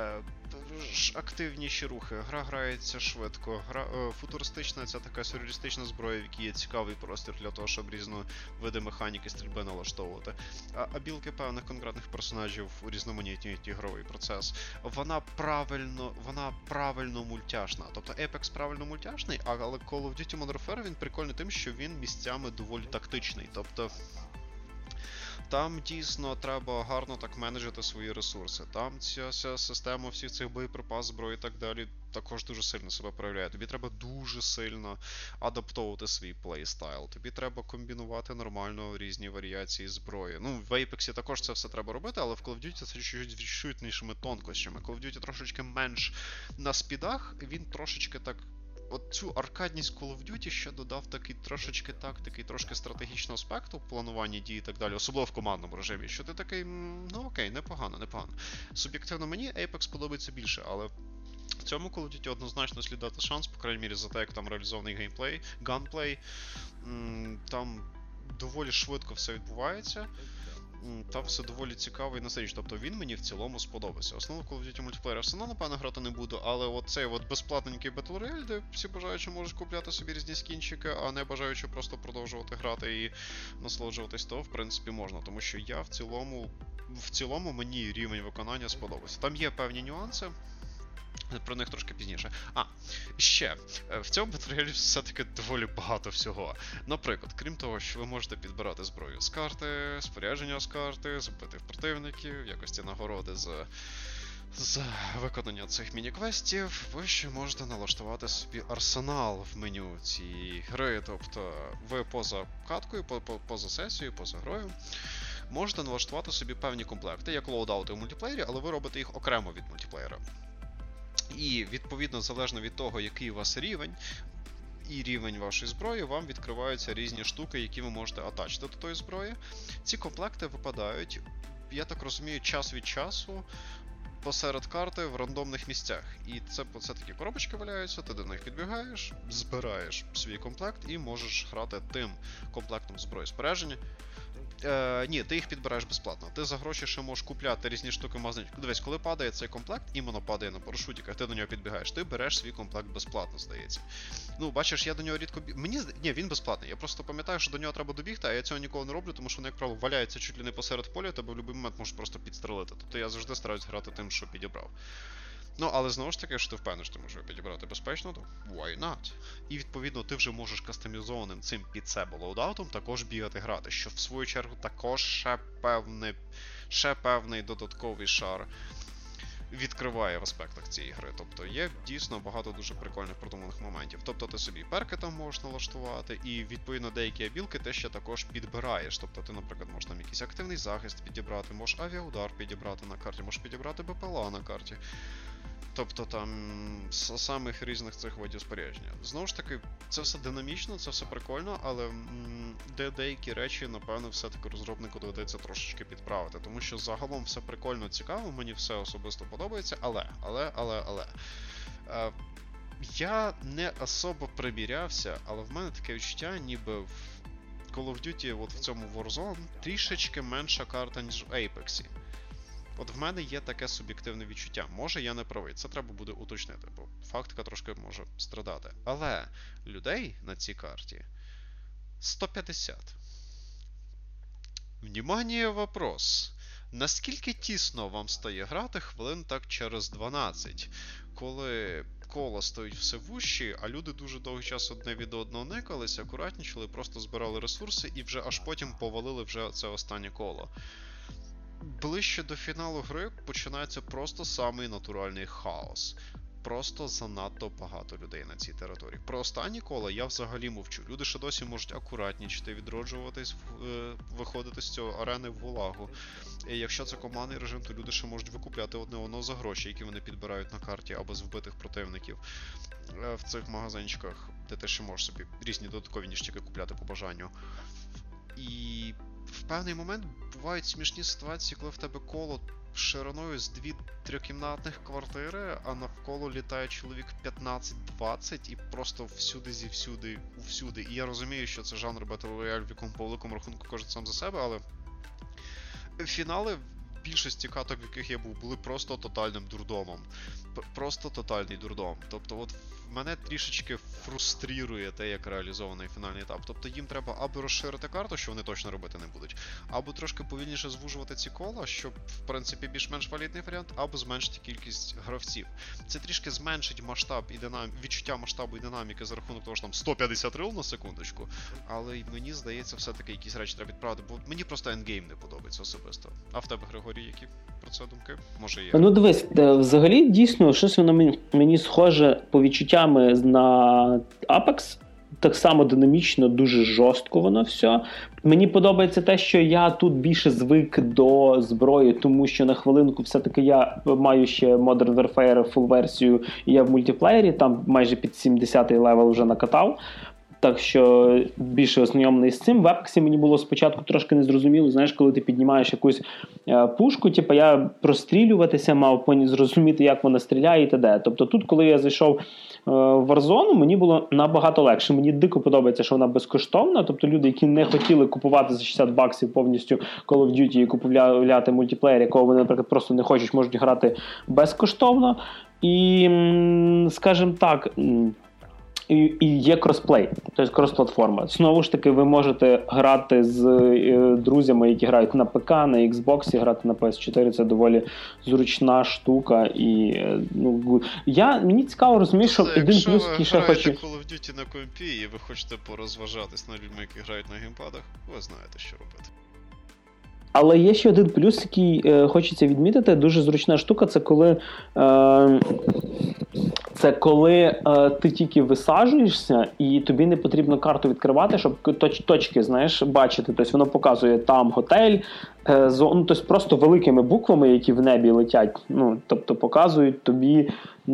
Активніші рухи, гра грається швидко, футуристична ця така сюрреалістична зброя, в якій є цікавий простір для того, щоб різні види механіки стрільби налаштовувати. А білки певних конкретних персонажів урізноманітнюють ігровий процес. Вона правильно мультяшна. Тобто Apex правильно мультяшний, але Call of Duty Modern Warfare він прикольний тим, що він місцями доволі тактичний. Тобто там дійсно треба гарно так менеджити свої ресурси. Там ця система всіх цих боєприпас, зброї і так далі також дуже сильно себе проявляє. Тобі треба дуже сильно адаптовувати свій плейстайл. Тобі треба комбінувати нормально різні варіації зброї. Ну, в Apex також це все треба робити, але в Call of Duty це чуть-чуть іншими тонкощами. Call of Duty трошечки менш на спідах, він трошечки так... От цю аркадність Call of Duty ще додав такий трошечки тактики, трошки стратегічного аспекту в плануванні дій і так далі, особливо в командному режимі, що ти такий, ну окей, непогано. Суб'єктивно мені Apex подобається більше, але в цьому Call of Duty однозначно слід дати шанс, по крайній мірі за те, як там реалізований геймплей, ганплей, там доволі швидко все відбувається. Там все доволі цікаво і насичено. Тобто він мені в цілому сподобався. Основно Call of Duty мультиплеєр все одно, напевно, грати не буду, але оцей безплатненький Battle Royale, де всі бажаючі можуть купляти собі різні скінчики, а не бажаючи просто продовжувати грати і насолоджуватись, то, в принципі, можна. Тому що я в цілому мені рівень виконання сподобався. Там є певні нюанси. Про них трошки пізніше. Ще, в цьому Battle Royale все-таки доволі багато всього. Наприклад, крім того, що ви можете підбирати зброю з карти, спорядження з карти, збити противників, в якості нагороди за виконання цих міні-квестів, ви ще можете налаштувати собі арсенал в меню цієї гри. Тобто, ви поза каткою, поза сесією, поза грою, можете налаштувати собі певні комплекти, як лоудаути в мультиплеєрі, але ви робите їх окремо від мультиплеєра. І, відповідно, залежно від того, який у вас рівень, і рівень вашої зброї, вам відкриваються різні штуки, які ви можете атачити до тої зброї. Ці комплекти випадають, я так розумію, час від часу, посеред карти в рандомних місцях. І це такі коробочки валяються, ти до них підбігаєш, збираєш свій комплект і можеш грати тим комплектом зброї спорядження. Ні, ти їх підбираєш безплатно. Ти за гроші ще можеш купляти різні штуки в магазині. Дивись, коли падає цей комплект, іменно падає на парашутиках, ти до нього підбігаєш, ти береш свій комплект безплатно, здається. Ну, бачиш, я до нього рідко Ні, він безплатний. Я просто пам'ятаю, що до нього треба добігти, а я цього ніколи не роблю, тому що вони, як правило, валяються чуть ли не посеред поля, тебе в будь-який момент можеш просто підстрелити. Тобто я завжди стараюсь грати тим, що підібрав. Ну, але знову ж таки, якщо ти впевнений, що ти можеш підібрати безпечно, то why not? І відповідно ти вже можеш кастомізованим цим під себе лоудаутом також бігати грати, що в свою чергу також ще певний додатковий шар відкриває в аспектах цієї гри. Тобто є дійсно багато дуже прикольних продуманих моментів. Тобто ти собі перки там можеш налаштувати, і відповідно деякі абілки ти ще також підбираєш. Тобто ти, наприклад, можеш там якийсь активний захист підібрати, можеш авіаудар підібрати на карті, можеш підібрати БПЛА на карті. Тобто там з самих різних цих видів спорядження. Знову ж таки, це все динамічно, це все прикольно, але деякі речі, напевно, все-таки розробнику доведеться трошечки підправити. Тому що загалом все прикольно, цікаво, мені все особисто подобається, але. Я не особо примірявся, але в мене таке відчуття, ніби в Call of Duty, от в цьому Warzone, трішечки менша карта, ніж в Apex. От в мене є таке суб'єктивне відчуття. Може, я не правий, це треба буде уточнити, бо фактика трошки може страдати. Але людей на цій карті 150. Внимание, вопрос. Наскільки тісно вам стає грати хвилин так через 12, коли коло стоїть все вущі, а люди дуже довгий час одне від одного никалися, акуратнічили, просто збирали ресурси і вже аж потім повалили вже це останнє коло. Ближче до фіналу гри починається просто самий натуральний хаос. Просто занадто багато людей на цій території. Про останні кола я взагалі мовчу. Люди ще досі можуть акуратнічити, відроджуватись, виходити з цього арени в влагу. І якщо це командний режим, то люди ще можуть викупляти одне одного за гроші, які вони підбирають на карті, або з вбитих противників в цих магазинчиках, де ти ще можеш собі різні додаткові ніштяки купляти по бажанню. І в певний момент бувають смішні ситуації, коли в тебе коло шириною з 2-3-кімнатних квартири, а навколо літає чоловік 15-20 і просто всюди. І я розумію, що це жанр Battle Royale, в якому по великому рахунку кожен сам за себе, але фінали в більшості каток, в яких я був, були просто тотальним дурдомом. Просто тотальний дурдом. Тобто от мене трішечки фрустрірує те, як реалізований фінальний етап. Тобто їм треба або розширити карту, що вони точно робити не будуть, або трошки повільніше звужувати ці кола, щоб, в принципі, більш-менш валідний варіант, або зменшити кількість гравців. Це трішки зменшить масштаб і відчуття масштабу і динаміки за рахунок того, що там 150 рил на секундочку, але мені здається, все-таки якісь речі треба відправити, бо мені просто ендгейм не подобається особисто. А в тебе, Григорій, які про це думки? Може є? Ну дивись, взагалі дійсно щось воно мені схоже по відчуттями на Apex. Так само динамічно, дуже жорстко воно все. Мені подобається те, що я тут більше звик до зброї, тому що на хвилинку все-таки я маю ще Modern Warfare full версію, і я в мультиплеєрі, там майже під 70-й левел вже накатав. Так що більше ознайомлений з цим. В Apex мені було спочатку трошки незрозуміло, знаєш, коли ти піднімаєш якусь пушку, типу я прострілюватися мав, зрозуміти, як вона стріляє і т.д. Тобто тут, коли я зайшов в Warzone, мені було набагато легше. Мені дико подобається, що вона безкоштовна. Тобто люди, які не хотіли купувати за 60 баксів повністю Call of Duty і купувати мультиплеєр, якого вони, наприклад, просто не хочуть, можуть грати безкоштовно. І, скажімо так, і є кросплей, тобто крос-платформа. Знову ж таки, ви можете грати з друзями, які грають на ПК, на Xbox, грати на PS4. Це доволі зручна штука. І, мені цікаво розумієш, що один плюс, який ще хочу... Якщо ви граєте Call of Duty на компі і ви хочете порозважатись над людьми, які грають на геймпадах, ви знаєте, що робити. Але є ще один плюс, який хочеться відмітити. Дуже зручна штука, це коли ти тільки висаджуєшся і тобі не потрібно карту відкривати, щоб точки, знаєш, бачити. Тобто воно показує там готель, тобто просто великими буквами, які в небі летять. Тобто показують тобі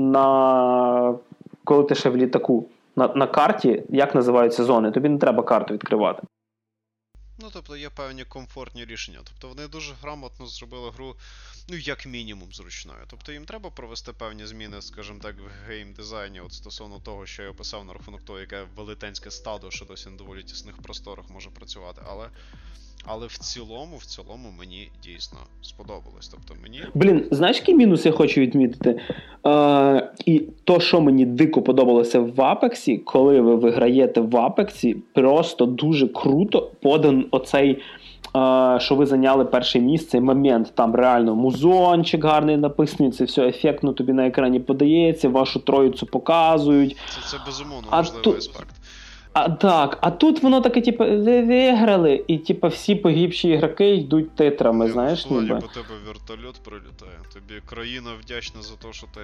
коли ти ще в літаку, на карті, як називаються зони. Тобі не треба карту відкривати. тобто є певні комфортні рішення. Тобто вони дуже грамотно зробили гру, ну, як мінімум, зручною. Тобто їм треба провести певні зміни, скажімо так, в геймдизайні, от стосовно того, що я описав на рахунок того, яке велетенське стадо, що досі на доволі тісних просторах може працювати, але в цілому мені дійсно сподобалось. Тобто мені... Знаєш, який мінус я хочу відмітити? І то, що мені дико подобалося в Apex, коли ви виграєте в Apex, просто дуже круто подан оцей, що ви зайняли перше місце, момент, там реально музончик гарний написаний, це все ефектно тобі на екрані подається, вашу троїцю показують. Це безумовно важливий аспект. А тут воно таке, типу, ви виграли, і типу всі погибші ігроки йдуть титрами, знаєш, ніби. По тебе вертольот прилітає. Тобі країна вдячна за те, що ти...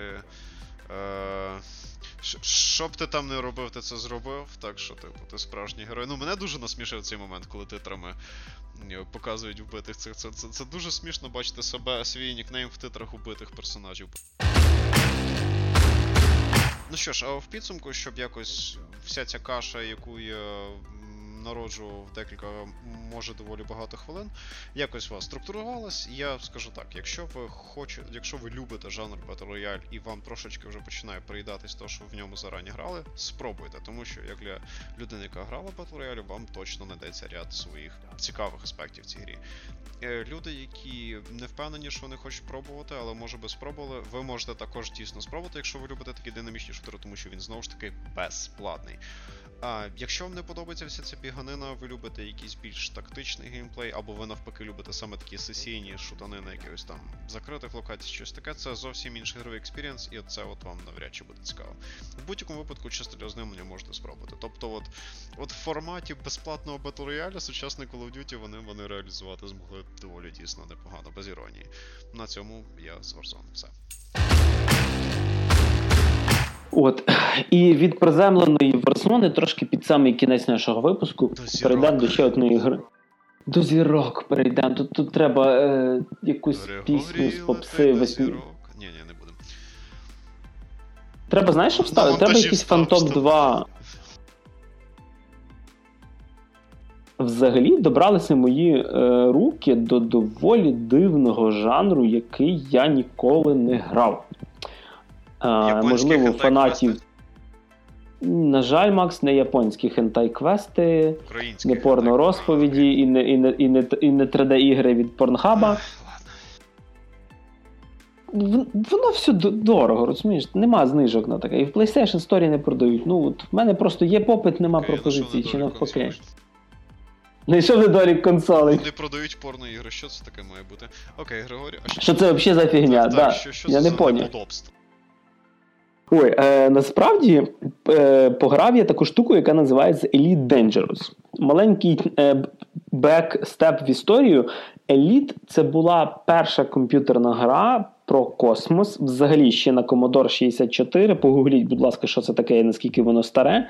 Що б ти там не робив, ти це зробив, так що, типу, ти справжній герой. Ну, мене дуже насмішив цей момент, коли титрами показують вбитих цих. Це дуже смішно бачити себе, свій нікнейм в титрах убитих персонажів. Ну що ж, а в підсумку, щоб якось вся ця каша, яку я народжу в декілька, може доволі багато хвилин, якось у вас структурувалась. Я скажу так, якщо ви любите жанр Battle Royale і вам трошечки вже починає приїдатись то, що в ньому зарані грали, спробуйте, тому що як для людини, яка грала в Battle Royale, вам точно знайдеться ряд своїх цікавих аспектів в цій грі. Люди, які не впевнені, що вони хочуть пробувати, але може би спробували, ви можете також дійсно спробувати, якщо ви любите такі динамічні шутери, тому що він знову ж таки безплатний. Якщо вам не подобається вся ця біганина, ви любите якийсь більш тактичний геймплей, або ви навпаки любите саме такі сесійні шутани на якихось там закритих локаціях, щось таке, це зовсім інший ігровий експірієнс, і це от вам навряд чи буде цікаво. В будь-якому випадку чисто для ознайомлення можете спробувати. Тобто от в форматі безплатного Battle Royale сучасний Call of Duty вони реалізувати змогли доволі дійсно непогано, без іронії. На цьому я з Warzone. Все. І від приземленої Warzone трошки під самий кінець нашого випуску перейдемо до ще одної гри. До зірок перейдемо. Тут треба якусь пісню з попси. Ні, не будемо. Треба, знаєш, що вставити? Треба якийсь Phantom 2. Взагалі добралися мої руки до доволі дивного жанру, який я ніколи не грав. Можливо, фанатів. На жаль, Макс, не японські хентай-квести, не порно-розповіді і не 3D-ігри від Порнхаба. Воно все дорого, розумієш? Нема знижок на таке. І в PlayStation Store не продають. Ну, от в мене просто є попит, нема пропозиції, чи навпаки. Знайшов недолік консолей. Вони продають порно-ігри, що це таке має бути? Окей, Григорій, а що це взагалі за фігня? Так, що я це не за поняв. неподобство? Насправді, пограв я таку штуку, яка називається Elite Dangerous. Маленький бекстеп в історію. Elite – це була перша комп'ютерна гра про космос. Взагалі ще на Commodore 64. Погугліть, будь ласка, що це таке і наскільки воно старе.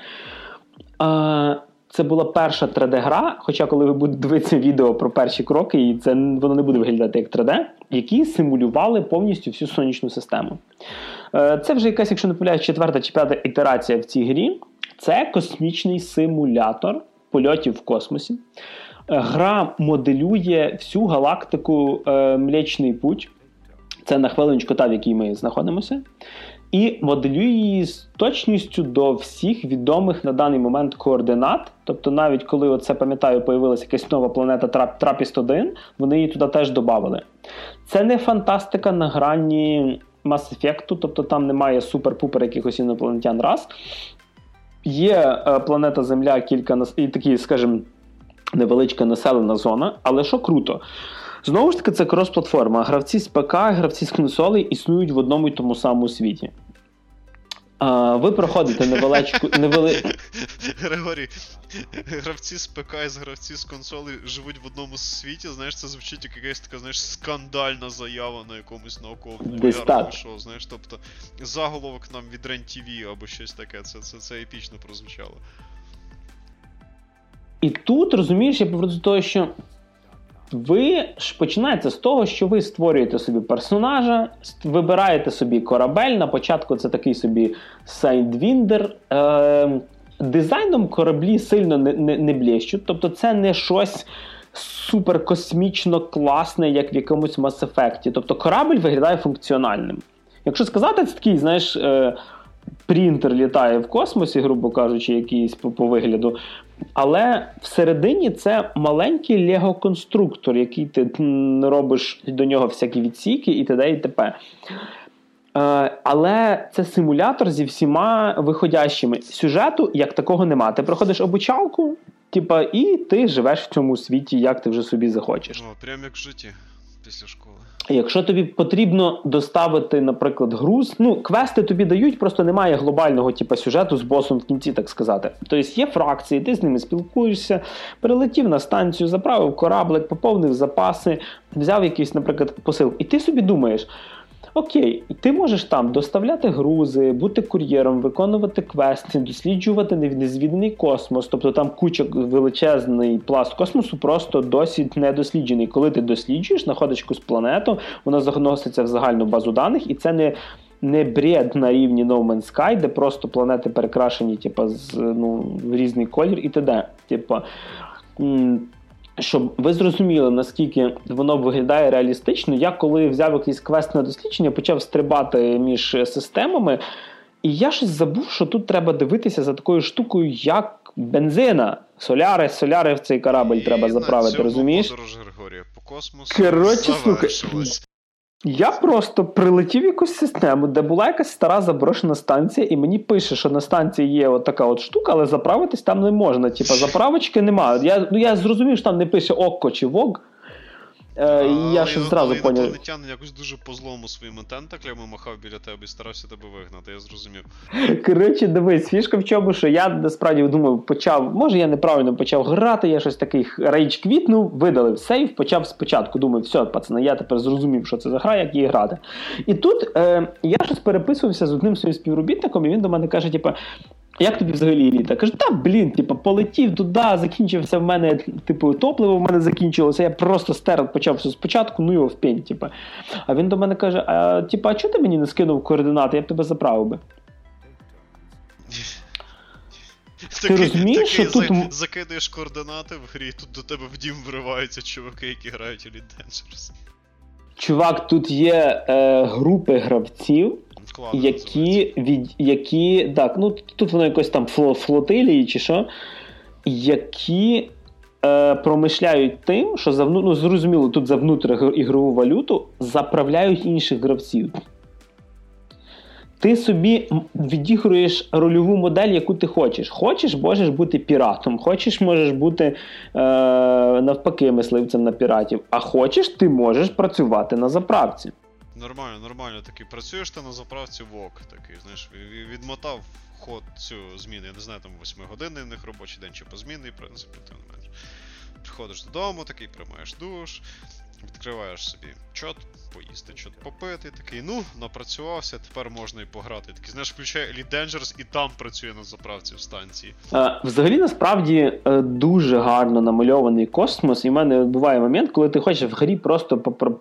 Це була перша 3D-гра, хоча коли ви будете дивитися відео про перші кроки, і воно не буде виглядати як 3D, які симулювали повністю всю сонячну систему. Це вже якась, якщо не помиляюсь, 4 чи 5 ітерація в цій грі. Це космічний симулятор польотів в космосі. Гра моделює всю галактику Млечний Путь. Це на хвилиночку та, в якій ми знаходимося. І моделює її з точністю до всіх відомих на даний момент координат. Тобто навіть коли, оце, пам'ятаю, появилася якась нова планета Трапіст-1, вони її туди теж додали. Це не фантастика на грані Mass Effect, тобто там немає супер-пупер якихось інопланетян раз. Є планета Земля, і такі, скажімо, невеличка населена зона, але що круто? Знову ж таки, це крос-платформа. Гравці з ПК, гравці з консолей існують в одному і тому самому світі. Ви проходите Григорій, гравці з ПК і гравці з консолей живуть в одному світі, знаєш, це звучить як якась така, знаєш, скандальна заява на якомусь науково-популярному шоу, знаєш, тобто заголовок нам від РЕН-ТВ або щось таке, це епічно прозвучало. І тут, розумієш, я повернусь до того, що ви ж починаєте з того, що ви створюєте собі персонажа, вибираєте собі корабель, на початку це такий собі Sidewinder. Дизайном кораблі сильно не блєщуть, тобто це не щось суперкосмічно класне, як в якомусь Mass Effect. Тобто корабль виглядає функціональним. Якщо сказати, це такий, знаєш, принтер літає в космосі, грубо кажучи, якийсь по вигляду. Але всередині це маленький лего-конструктор, який ти робиш до нього всякі відсіки і т.д. і т.п. Але це симулятор зі всіма виходящими. Сюжету як такого нема. Ти проходиш обучалку, і ти живеш в цьому світі, як ти вже собі захочеш. Прямо як в житті після школи. Якщо тобі потрібно доставити, наприклад, груз, квести тобі дають, просто немає глобального сюжету з босом в кінці, так сказати. Тобто є фракції, ти з ними спілкуєшся, прилетів на станцію, заправив кораблик, поповнив запаси, взяв якийсь, наприклад, посил. І ти собі думаєш, окей, ти можеш там доставляти грузи, бути кур'єром, виконувати квести, досліджувати незвіданий космос. Тобто там куча, величезний пласт космосу просто досі не досліджений. Коли ти досліджуєш, знаходиш якусь планету, вона заноситься в загальну базу даних, і це не бред на рівні No Man's Sky, де просто планети перекрашені в різний колір і т.д. Щоб ви зрозуміли, наскільки воно виглядає реалістично, я коли взяв якийсь квест на дослідження, почав стрибати між системами, і я щось забув, що тут треба дивитися за такою штукою, як бензина. Соляри в цей корабль треба заправити, розумієш? Подорож Григорія по космосу завершилась. Я просто прилетів в якусь систему, де була якась стара заброшена станція, і мені пише, що на станції є от така от штука, але заправитись там не можна. Заправочки немає. Я зрозумів, що там не пише ОККО чи ВОГ. Я щось зразу поняв. Інопланетянин якось дуже по-злому своїми тентаклями махав біля тебе і старався тебе вигнати, я зрозумів. Коротше, дивись, фішка в чому, що я насправді думав, може я неправильно почав грати, я щось такий рейдж квітнув, видалив сейв, почав спочатку, думаю, все, пацани, я тепер зрозумів, що це за гра, як її грати. І тут я щось переписувався з одним своїм співробітником, і він до мене каже, як тобі взагалі еліта? Кажу, полетів туди, закінчився в мене, топливо в мене закінчилося, я просто почав все спочатку, його в пень, А він до мене каже, а чого ти мені не скинув координати, я б тебе заправив би? Ти розумієш, що тут... Закидаєш координати в грі, тут до тебе в дім вриваються чуваки, які грають у Elite Dangerous. Чувак, тут є групи гравців, які так, тут воно якось там флотилії чи що, які промишляють тим, що зрозуміло, тут за внутрігрову валюту заправляють інших гравців. Ти собі відігруєш рольову модель, яку ти хочеш. Хочеш, можеш бути піратом, хочеш, можеш бути навпаки мисливцем на піратів, а хочеш, ти можеш працювати на заправці. Нормально такий. Працюєш ти на заправці ВОК такий, знаєш, відмотав ход цю зміну, я не знаю, там 8-годинний в них робочий день чи позмінний, в принципі, ти не менш. Приходиш додому, такий, приймаєш душ, відкриваєш собі чот, поїсти, чот попити, такий, напрацювався, тепер можна і пограти. Такий, знаєш, включає Elite Dangerous і там працює на заправці в станції. Взагалі, насправді, дуже гарно намальований космос, і в мене буває момент, коли ти хочеш в грі просто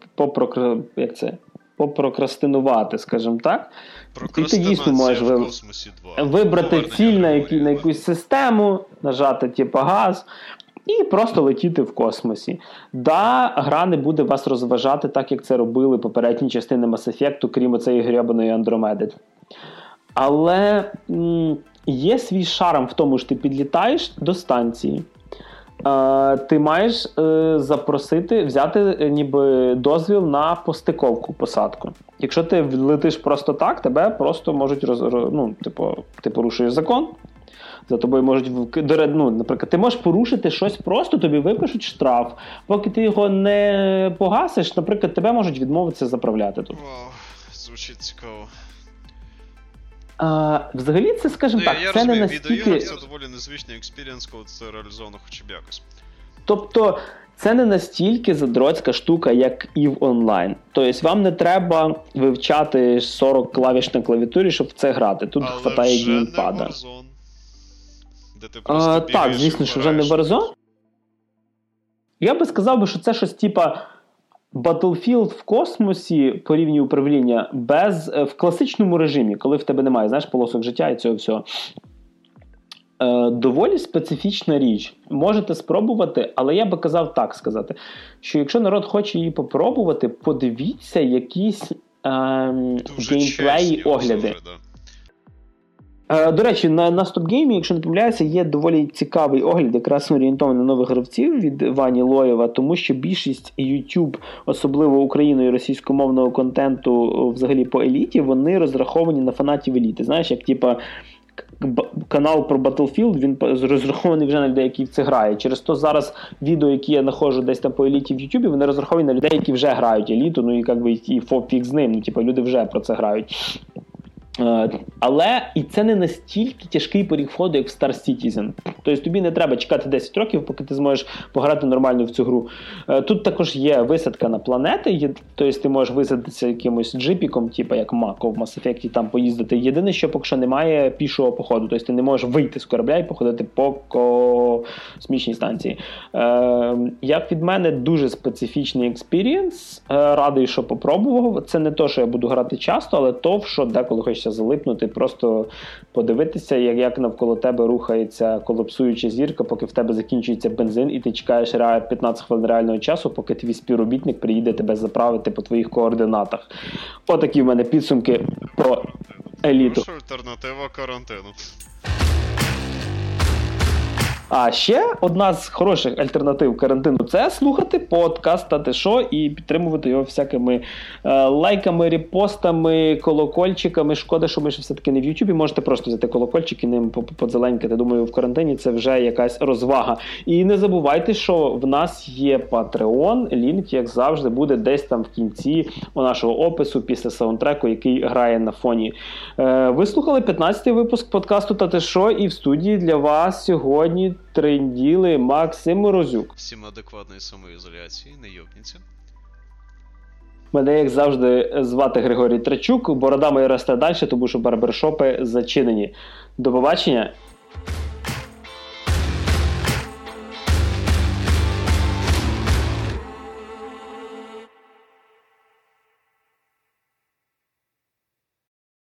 попрокрастинувати, скажімо так. І ти дійсно можеш вибрати ціль на якусь систему, нажати газ, і просто летіти в космосі. Гра не буде вас розважати так, як це робили попередні частини Mass Effect, крім оцеї гребаної Андромеди. Але є свій шарм в тому, що ти підлітаєш до станції. Ти маєш взяти ніби дозвіл на постиковку, посадку. Якщо ти летиш просто так, тебе просто можуть ти порушуєш закон. За тобою можуть, наприклад, ти можеш порушити щось просто, тобі випишуть штраф. Поки ти його не погасиш, наприклад, тебе можуть відмовитися заправляти тут. Вау, звучить цікаво. Взагалі це, скажімо так, це не настільки... Відеоігр це доволі незвичний експірієнс, коли це реалізовано хоча б якось. Тобто, це не настільки задроцька штука, як EVE Online. Тобто, вам не треба вивчати 40 клавіш на клавіатурі, щоб в це грати. Тут хватає геймпада. Так, звісно, що вже не Warzone. Я би сказав, що це щось типа Battlefield в космосі по рівню управління в класичному режимі, коли в тебе немає, полосок життя і цього всього. Доволі специфічна річ. Можете спробувати, але я би казав так сказати, що якщо народ хоче її попробувати, подивіться якісь геймплеї, огляди. До речі, на StopGame, якщо не помиляюся, є доволі цікавий огляд, якраз орієнтований на нових гравців від Вані Лоєва, тому що більшість YouTube, особливо українського і російськомовного контенту взагалі по еліті, вони розраховані на фанатів еліти. Знаєш, як типа канал про Battlefield, він розрахований вже на людей, які в це грають. Через то зараз відео, які я знаходжу десь там по еліті в YouTube, вони розраховані на людей, які вже грають еліту, ну і якби і фіг з ним, ну типа люди вже про це грають. Але і це не настільки тяжкий поріг входу, як в Star Citizen. Тобто тобі не треба чекати 10 років, поки ти зможеш пограти нормально в цю гру. Тут також є висадка на планети, тобто ти можеш висадитися якимось джипіком, типу як Мако в Mass Effect, там поїздити. Єдине, що поки що немає пішого походу. Тобто ти не можеш вийти з корабля і походити по космічній станції. Як від мене, дуже специфічний експірієнс. Радий, що попробував. Це не то, що я буду грати часто, але то, що деколи хочеться залипнути, просто подивитися, як навколо тебе рухається колапсуюча зірка, поки в тебе закінчується бензин, і ти чекаєш 15 хвилин реального часу, поки твій співробітник приїде тебе заправити по твоїх координатах. Отакі в мене підсумки про еліту. Що альтернатива карантину? А ще одна з хороших альтернатив карантину – це слухати подкаст «Та що» і підтримувати його всякими лайками, репостами, колокольчиками. Шкода, що ми ще все-таки не в Ютубі. Можете просто взяти колокольчик і ним подзеленькати. Думаю, в карантині це вже якась розвага. І не забувайте, що в нас є Patreon. Лінк, як завжди, буде десь там в кінці у нашого опису після саундтреку, який грає на фоні. Ви слухали 15-й випуск подкасту «Та що» і в студії для вас сьогодні тренділи Максим Морозюк. Всім адекватної самоізоляції, не йобніться. Мене, як завжди, звати Григорій Трачук. Борода моя росте далі, тому що барбершопи зачинені. До побачення.